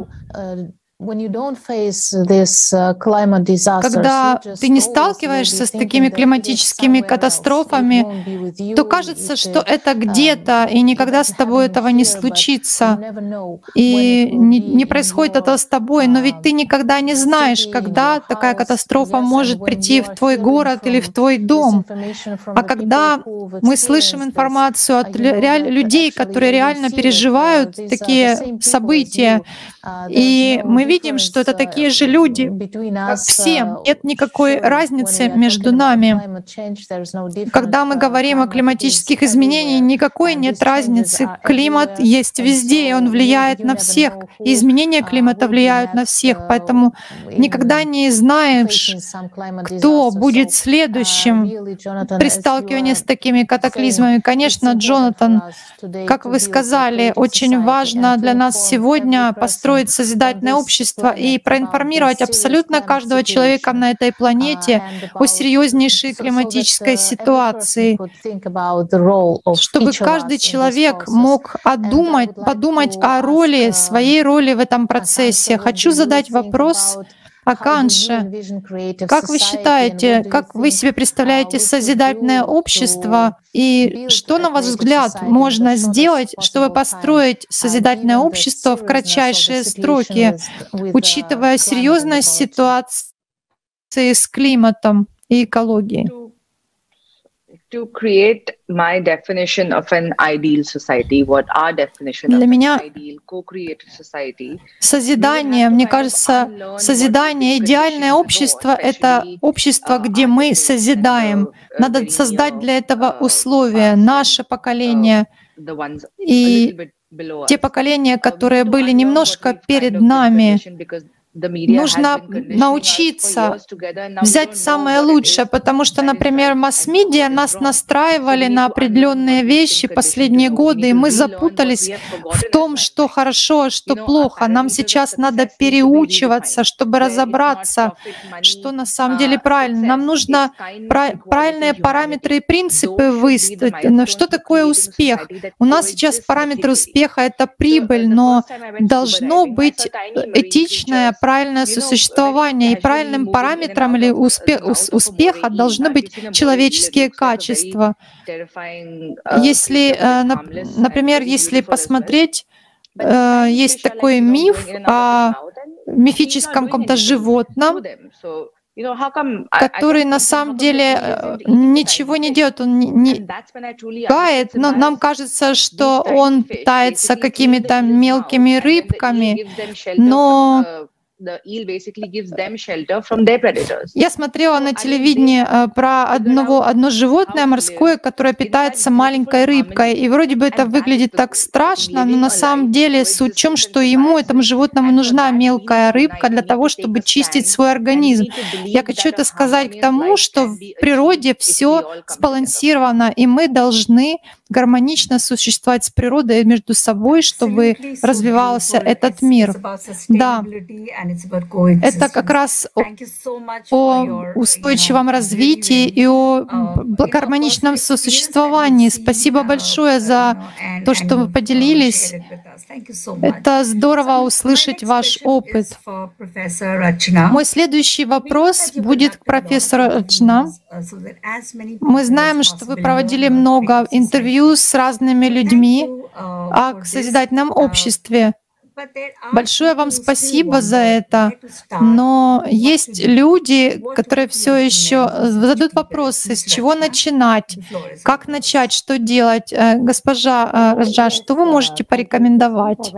когда ты не сталкиваешься с такими климатическими катастрофами, то кажется, что это где-то, и никогда с тобой этого не случится. И не происходит это с тобой, но ведь ты никогда не знаешь, когда такая катастрофа может прийти в твой город или в твой дом. А когда мы слышим информацию от людей, которые реально переживают такие события, и мы видим, что это такие же люди, как все. Нет никакой разницы между нами. Когда мы говорим о климатических изменениях, никакой нет разницы. Климат есть везде, и он влияет на всех. И изменения климата влияют на всех. Поэтому никогда не знаешь, кто будет следующим при сталкивании с такими катаклизмами. Конечно, Джонатан, как вы сказали, очень важно для нас сегодня построить созидательное общество, общества и проинформировать абсолютно каждого человека на этой планете о серьезнейшей климатической ситуации, чтобы каждый человек мог подумать о роли, своей роли в этом процессе. Хочу задать вопрос Аканше. Как вы считаете, как вы себе представляете созидательное общество, и что, на ваш взгляд, можно сделать, чтобы построить созидательное общество в кратчайшие сроки, учитывая серьезность ситуации с климатом и экологией?
To create my definition of an ideal society, what our definition
Для
of
меня
an ideal co-created society.
созидание, мне кажется, созидание, идеальное общество — это общество, где мы созидаем. Надо создать для этого условия, наше поколение и те поколения, которые были немножко перед нами. Нужно научиться взять самое лучшее, потому что, например, масс-медиа нас настраивали на определенные вещи последние годы, и мы запутались в том, что хорошо, а что плохо. Нам сейчас надо переучиваться, чтобы разобраться, что на самом деле правильно. Нам нужно правильные параметры и принципы выставить. Что такое успех? У нас сейчас параметры успеха — это прибыль, но должно быть этичное, правильное сосуществование, и правильным параметром или успеха должны быть человеческие качества. Если, например, если посмотреть, есть такой миф о мифическом каком-то животном, который на самом деле ничего не делает, он не гает, но нам кажется, что он питается какими-то мелкими рыбками, но я смотрела на телевидении про одно животное морское, которое питается маленькой рыбкой, и вроде бы это выглядит так страшно, но на самом деле суть в том, что этому животному нужна мелкая рыбка для того, чтобы чистить свой организм. Я хочу это сказать к тому, что в природе все сбалансировано, и мы должны гармонично существовать с природой и между собой, чтобы развивался этот мир. Да. Это как раз о устойчивом развитии и о гармоничном сосуществовании. Спасибо большое за то, что вы поделились. Это здорово услышать ваш опыт. Мой следующий вопрос будет к профессору Рачна. Мы знаем, что вы проводили много интервью с разными людьми о созидательном обществе. Большое вам спасибо за это. Но есть люди, которые все еще задают вопросы, с чего начинать, как начать, что делать. Госпожа Раджа, что вы можете порекомендовать?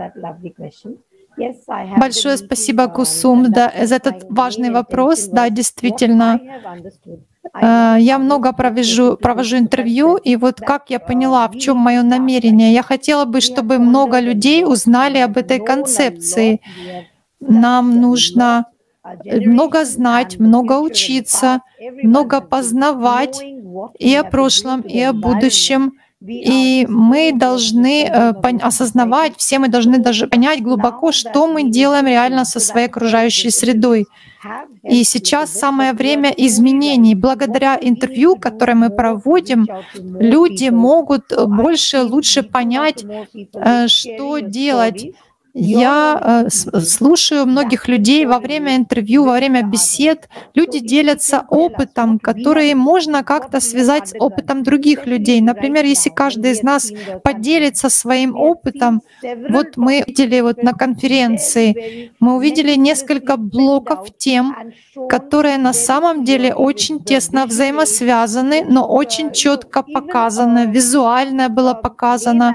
Большое спасибо, Кусум, за этот важный вопрос. Да, действительно. Я много провожу интервью, и вот как я поняла, в чем мое намерение. Я хотела бы, чтобы много людей узнали об этой концепции. Нам нужно много знать, много учиться, много познавать и о прошлом, и о будущем. И мы должны осознавать, все мы должны даже понять глубоко, что мы делаем реально со своей окружающей средой. И сейчас самое время изменений. Благодаря интервью, которое мы проводим, люди могут больше, лучше понять, что делать. Я слушаю многих людей во время интервью, во время бесед. Люди делятся опытом, который можно как-то связать с опытом других людей. Например, если каждый из нас поделится своим опытом, вот мы видели на конференции, мы увидели несколько блоков тем, которые на самом деле очень тесно взаимосвязаны, но очень четко показаны, визуально было показано.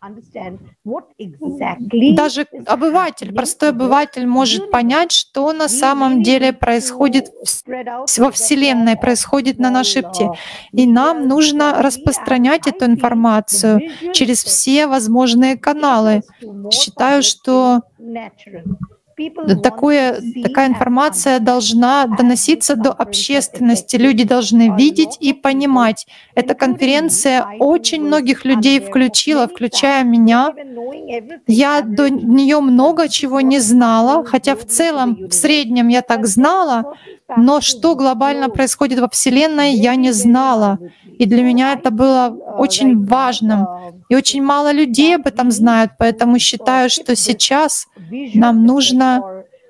Даже обыватель, простой обыватель может понять, что на самом деле происходит во Вселенной, происходит на нашей птице. И нам нужно распространять эту информацию через все возможные каналы. Считаю, что такая информация должна доноситься до общественности. Люди должны видеть и понимать. Эта конференция очень многих людей включила, включая меня. Я до нее много чего не знала, хотя в целом, в среднем я так знала, но что глобально происходит во Вселенной, я не знала. И для меня это было очень важным. И очень мало людей об этом знают, поэтому считаю, что сейчас нам нужно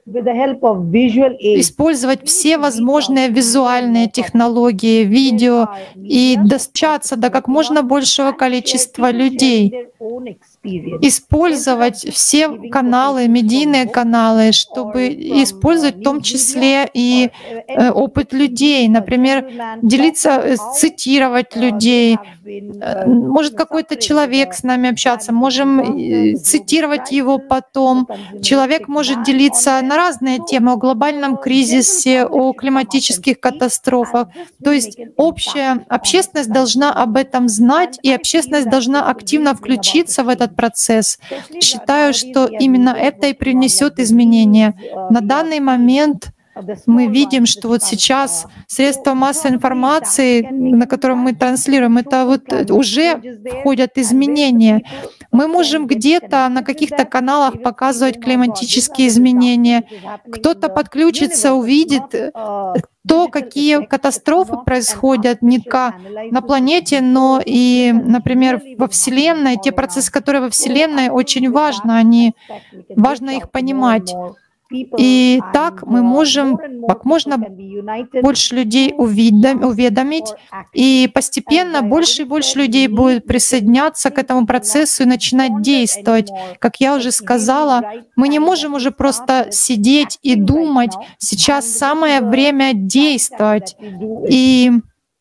использовать все возможные визуальные технологии, видео и достучаться до как можно большего количества людей. Использовать все каналы, медийные каналы, чтобы использовать в том числе и опыт людей. Например, делиться, цитировать людей. Может какой-то человек с нами общаться, можем цитировать его потом. Человек может делиться на разные темы, о глобальном кризисе, о климатических катастрофах. То есть общая общественность должна об этом знать, и общественность должна активно включиться в этот процесс. Считаю, что именно это и принесет изменения. На данный момент мы видим, что вот сейчас средства массовой информации, на котором мы транслируем, это вот уже входят изменения. Мы можем где-то на каких-то каналах показывать климатические изменения. Кто-то подключится, увидит то, какие катастрофы происходят не только на планете, но и, например, во Вселенной. Те процессы, которые во Вселенной, очень важно, важно их понимать. И так мы можем как можно больше людей уведомить, и постепенно больше и больше людей будет присоединяться к этому процессу и начинать действовать. Как я уже сказала, мы не можем уже просто сидеть и думать. Сейчас самое время действовать. И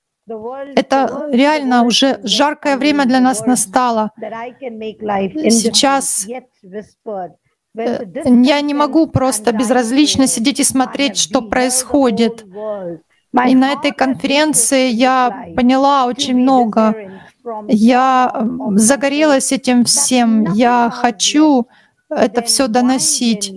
это реально уже жаркое время для нас настало. Сейчас я не могу просто безразлично сидеть и смотреть, что происходит. И на этой конференции я поняла очень много. Я загорелась этим всем. Я хочу это все доносить.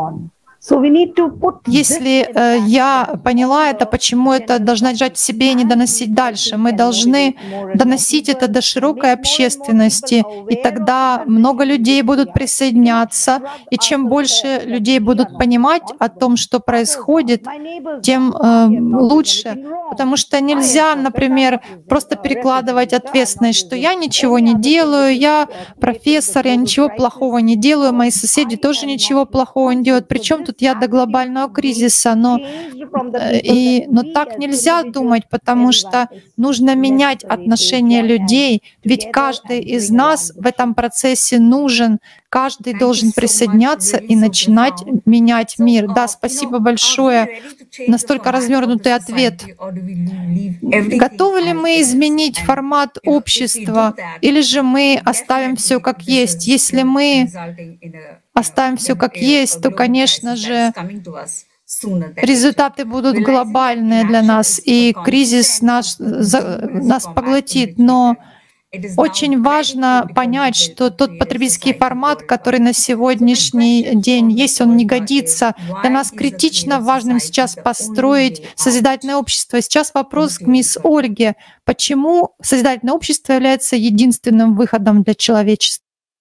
Если я поняла это, почему это должна держать в себе и не доносить дальше, мы должны доносить это до широкой общественности, и тогда много людей будут присоединяться, и чем больше людей будут понимать о том, что происходит, тем лучше. Потому что нельзя, например, просто перекладывать ответственность, что я ничего не делаю, я профессор, я ничего плохого не делаю, мои соседи тоже ничего плохого не делают. Причем тут я до глобального кризиса, но так нельзя думать, потому что нужно менять отношение людей, ведь каждый из нас в этом процессе нужен, каждый должен присоединяться и начинать менять мир. Да, спасибо большое. Настолько развернутый ответ. Готовы ли мы изменить формат общества, или же мы оставим все как есть? Если мы оставим все как есть, то, конечно же, результаты будут глобальные для нас, и кризис нас поглотит. Но очень важно понять, что тот потребительский формат, который на сегодняшний день есть, он не годится. Для нас критично важным сейчас построить созидательное общество. Сейчас вопрос к мисс Ольге. Почему созидательное общество является единственным выходом для человечества?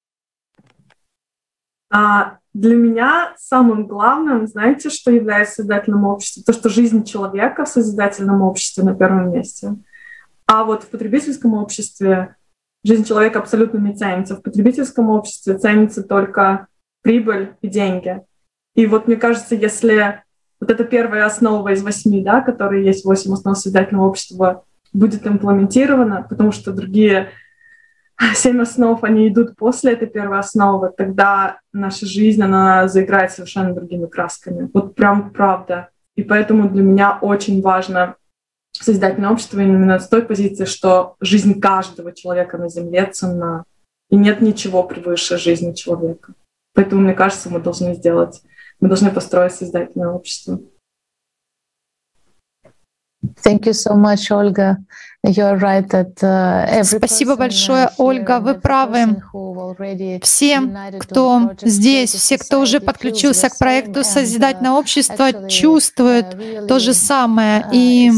Для меня самым главным, знаете, что является созидательным обществом? То, что жизнь человека в созидательном обществе на первом месте. А вот в потребительском обществе жизнь человека абсолютно не ценится. В потребительском обществе ценится только прибыль и деньги. И вот мне кажется, если вот эта первая основа из 8, да, которые есть 8 основ созидательного общества, будет имплементирована, потому что другие 7 основ, они идут после этой первой основы, тогда наша жизнь, она заиграет совершенно другими красками. Вот прям правда. И поэтому для меня очень важно созидательное общество именно с той позиции, что жизнь каждого человека на Земле ценна. И нет ничего превыше жизни человека. Поэтому, мне кажется, мы должны построить созидательное общество.
Thank you so much, Olga. You're right that
Спасибо большое, Ольга, вы правы. Все, кто здесь, все, кто уже подключился к проекту «Созидательное общество», чувствуют то же самое. И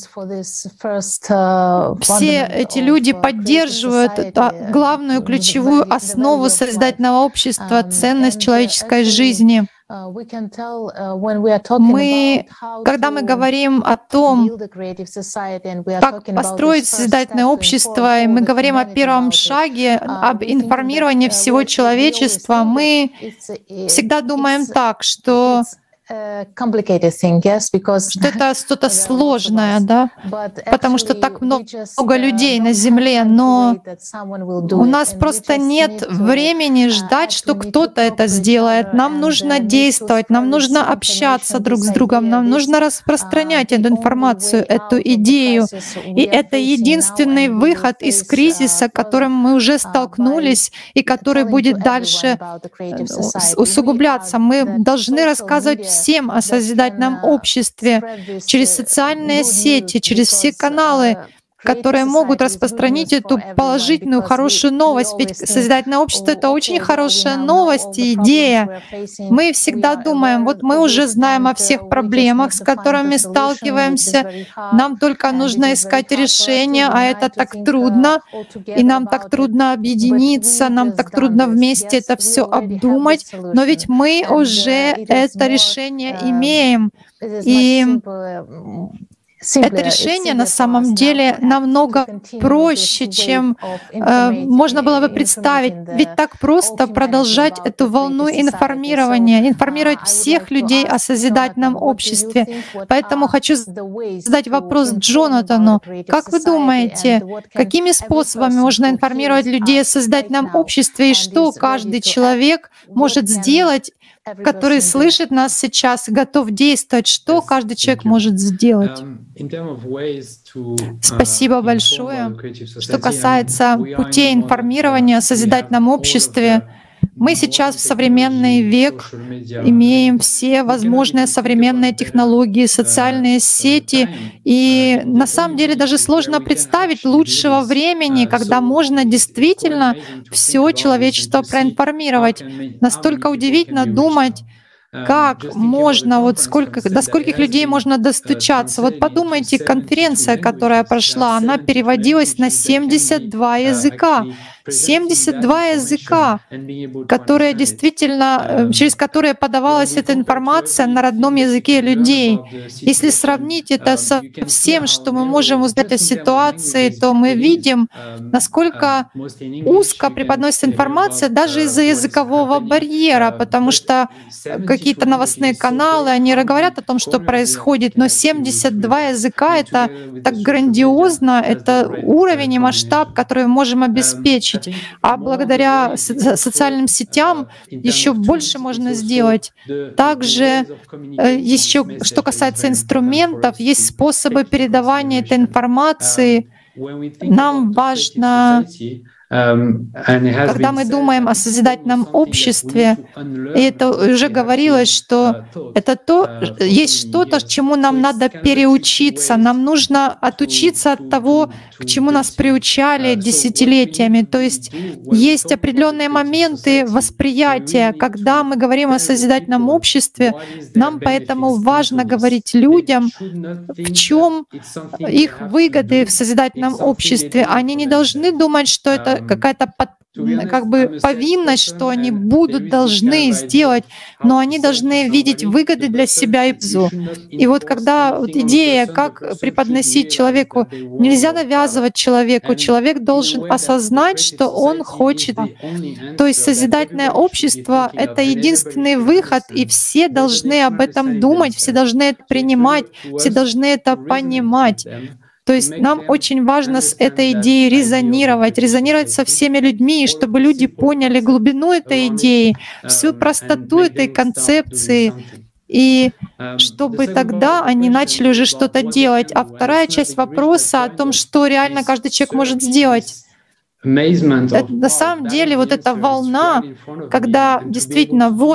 все эти люди поддерживают главную ключевую основу созидательного общества — ценность человеческой жизни. Когда мы говорим о том, как построить созидательное общество, и мы говорим о первом шаге, об информировании всего человечества, мы всегда думаем так, что это что-то сложное, да? Потому что так много людей на Земле, но у нас просто нет времени ждать, что кто-то это сделает. Нам нужно действовать, нам нужно общаться друг с другом, нам нужно распространять эту информацию, эту идею. И это единственный выход из кризиса, с которым мы уже столкнулись и который будет дальше усугубляться. Мы должны рассказывать всем о созидательном обществе через социальные сети, через все каналы, которые могут распространить эту положительную, хорошую новость. Ведь созидательное общество — это очень хорошая новость и идея. Мы всегда думаем, вот мы уже знаем о всех проблемах, с которыми сталкиваемся, нам только нужно искать решения, а это так трудно, и нам так трудно объединиться, нам так трудно вместе это все обдумать, но ведь мы уже это решение имеем. И это решение на самом деле намного проще, чем можно было бы представить. Ведь так просто продолжать эту волну информирования, информировать всех людей о созидательном обществе. Поэтому хочу задать вопрос Джонатану. Как вы думаете, какими способами можно информировать людей о созидательном обществе и что каждый человек может сделать, который слышит нас сейчас и готов действовать? Что каждый человек может сделать? Спасибо большое. Что касается путей информирования о созидательном обществе, мы сейчас в современный век имеем все возможные современные технологии, социальные сети, и на самом деле даже сложно представить лучшего времени, когда можно действительно все человечество проинформировать. Настолько удивительно думать, как можно, вот до скольких людей можно достучаться. Вот подумайте, конференция, которая прошла, она переводилась на 72 языка. 72 языка, которые действительно, через которые подавалась эта информация на родном языке людей. Если сравнить это со всем, что мы можем узнать о ситуации, то мы видим, насколько узко преподносится информация даже из-за языкового барьера, потому что какие-то новостные каналы, они говорят о том, что происходит, но 72 языка — это так грандиозно, это уровень и масштаб, который мы можем обеспечить. А благодаря социальным сетям еще больше можно сделать. Также еще, что касается инструментов, есть способы передавания этой информации. Нам важно, когда мы думаем о созидательном обществе, и это уже говорилось, что есть что-то, чему нам надо переучиться. Нам нужно отучиться от того, к чему нас приучали десятилетиями. То есть есть определенные моменты восприятия. Когда мы говорим о созидательном обществе, нам поэтому важно говорить людям, в чем их выгоды в созидательном обществе. Они не должны думать, что это какая-то повинность, что они должны сделать, но они должны видеть выгоды для себя и пользу. И вот когда идея, как преподносить человеку, нельзя навязывать человеку, человек должен осознать, что он хочет. То есть созидательное общество — это единственный выход, и все должны об этом думать, все должны это принимать, все должны это понимать. То есть нам очень важно с этой идеей резонировать со всеми людьми, чтобы люди поняли глубину этой идеи, всю простоту этой концепции, и чтобы тогда они начали уже что-то делать. А вторая часть вопроса о том, что реально каждый человек может сделать. На самом деле вот эта волна, когда действительно вот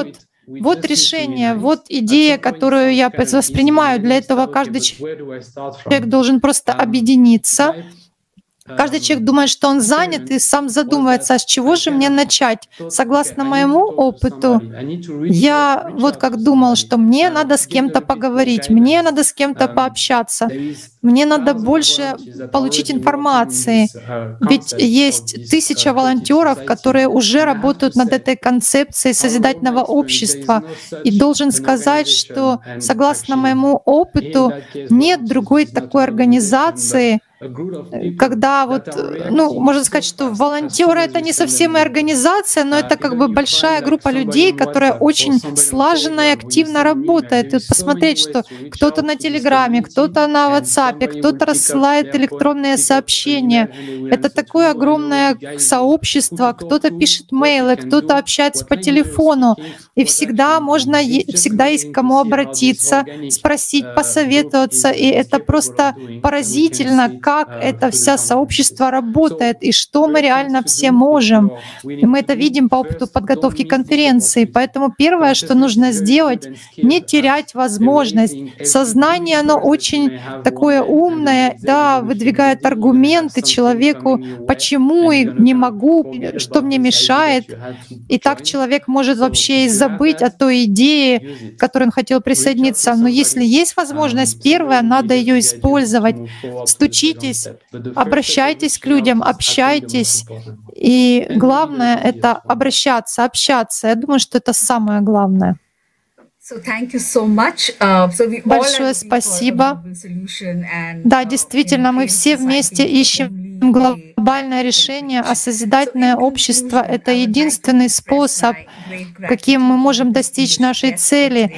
Вот решение, вот идея, которую я воспринимаю. Для этого каждый человек должен просто объединиться. Каждый человек думает, что он занят, и сам задумывается, а с чего же мне начать? Согласно моему опыту, я вот как думал, что мне надо с кем-то поговорить, мне надо с кем-то пообщаться, мне надо больше получить информации. Ведь есть 1000 волонтеров, которые уже работают над этой концепцией созидательного общества. И должен сказать, что согласно моему опыту, нет другой такой организации, когда вот, можно сказать, что волонтеры — это не совсем и организация, но это как бы большая группа людей, которая очень слаженно и активно работает. И вот посмотреть, что кто-то на Телеграме, кто-то на WhatsApp, кто-то рассылает электронные сообщения. Это такое огромное сообщество, кто-то пишет мейлы, кто-то общается по телефону. И всегда есть к кому обратиться, спросить, посоветоваться. И это просто поразительно, как это вся сообщество работает и что мы реально все можем. И мы это видим по опыту подготовки конференции. Поэтому первое, что нужно сделать, не терять возможность. Сознание, оно очень такое умное, да, выдвигает аргументы человеку, почему и не могу, что мне мешает. И так человек может вообще и забыть о той идее, к которой он хотел присоединиться. Но если есть возможность, первое, надо ее использовать. Стучитесь, обращайтесь к людям, общайтесь. И главное — это обращаться, общаться. Я думаю, что это самое главное. Большое спасибо. Да, действительно, мы все вместе ищем глобальное решение, а созидательное общество — это единственный способ, каким мы можем достичь нашей цели.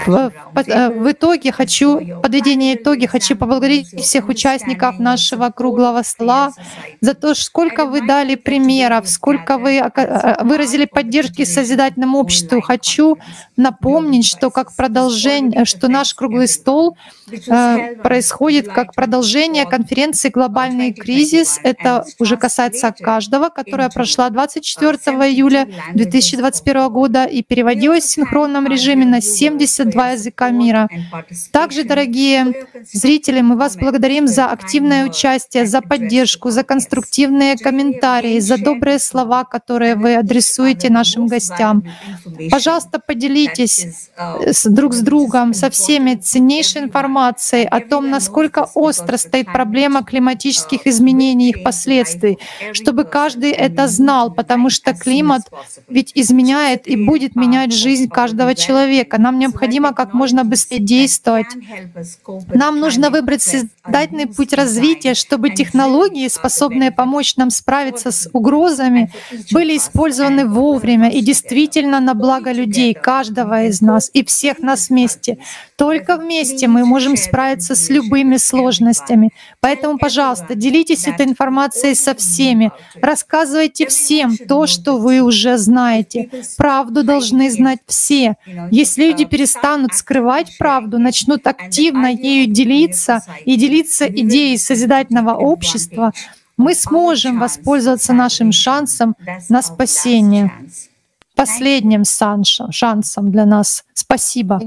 В итоге подведение итоги, хочу поблагодарить всех участников нашего круглого стола за то, сколько вы дали примеров, сколько вы выразили поддержки созидательному обществу. Хочу напомнить, что как продолжение, что наш круглый стол происходит как продолжение конференции «Глобальный кризис». Это уже касается каждого, которая прошла 24 июля 2021 года и переводилась в синхронном режиме на 72 языка мира. Также, дорогие зрители, мы вас благодарим за активное участие, за поддержку, за конструктивные комментарии, за добрые слова, которые вы адресуете нашим гостям. Пожалуйста, поделитесь друг с другом, со всеми ценнейшей информацией о том, насколько остро стоит проблема климатических изменений и их последствий, чтобы каждый это знал, потому что климат ведь изменяет и будет менять жизнь каждого человека. Нам необходимо как можно быстрее действовать. Нам нужно выбрать созидательный путь развития, чтобы технологии, способные помочь нам справиться с угрозами, были использованы вовремя и действительно на благо людей, каждого из нас и всех нас вместе. Только вместе мы можем справиться с любыми сложностями. Поэтому, пожалуйста, делитесь этой информацией со всеми. Рассказывайте всем то, что вы уже знаете. Правду должны знать все. Если люди перестанут скрывать правду, начнут активно ею делиться и делиться идеей созидательного общества, мы сможем воспользоваться нашим шансом на спасение. Последним шансом для нас. Спасибо.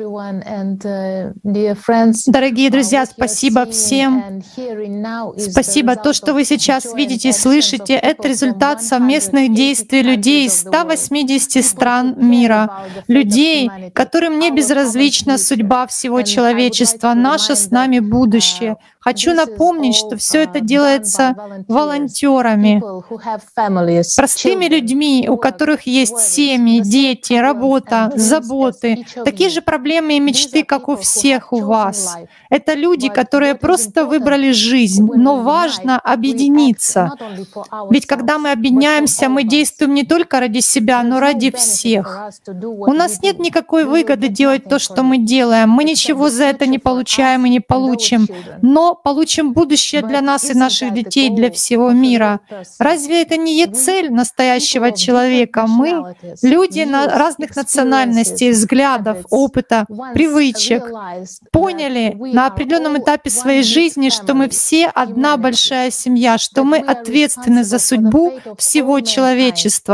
Дорогие друзья, спасибо всем. Спасибо. То, что вы сейчас видите и слышите, это результат совместных действий людей из 180 стран мира. Людей, которым не безразлична судьба всего человечества, наше с нами будущее. Хочу напомнить, что все это делается волонтерами, простыми людьми, у которых есть семьи, дети, работа, заботы, такие же проблемы и мечты, как у всех у вас. Это люди, которые просто выбрали жизнь, но важно объединиться. Ведь когда мы объединяемся, мы действуем не только ради себя, но ради всех. У нас нет никакой выгоды делать то, что мы делаем. Мы ничего за это не получаем и не получим. Но получим будущее для нас и наших детей, для всего мира. Разве это не цель настоящего человека? Мы, люди разных национальностей, взглядов, опыта, привычек, поняли на определенном этапе своей жизни, что мы все одна большая семья, что мы ответственны за судьбу всего человечества.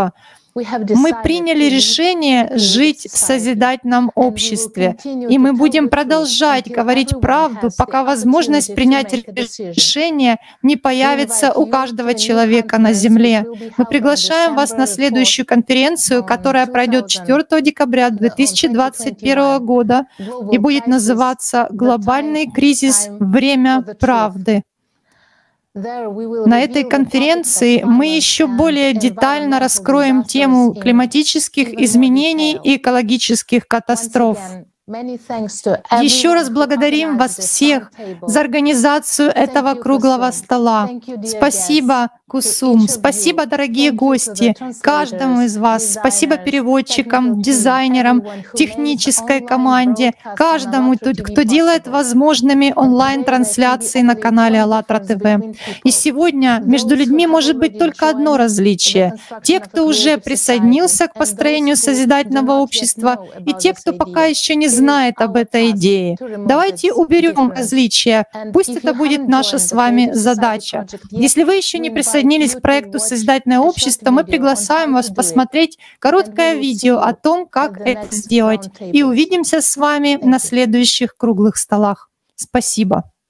Мы приняли решение жить в созидательном обществе, и мы будем продолжать говорить правду, пока возможность принять решение не появится у каждого человека на Земле. Мы приглашаем вас на следующую конференцию, которая пройдет 4 декабря 2021 года и будет называться «Глобальный кризис. Время правды». На этой конференции мы еще более детально раскроем тему климатических изменений и экологических катастроф. Еще раз благодарим вас всех за организацию этого круглого стола. Спасибо, Кусум. Спасибо, дорогие гости, каждому из вас. Спасибо переводчикам, дизайнерам, технической команде, каждому, кто делает возможными онлайн-трансляции на канале АЛЛАТРА ТВ. И сегодня между людьми может быть только одно различие. Те, кто уже присоединился к построению созидательного общества, и те, кто пока еще не знает об этой идее. Давайте уберем различия. Пусть это будет наша с вами задача. Если вы еще не присоединились к проекту «Созидательное общество», мы приглашаем вас посмотреть короткое видео о том, как это сделать. И увидимся с вами на следующих круглых столах. Спасибо.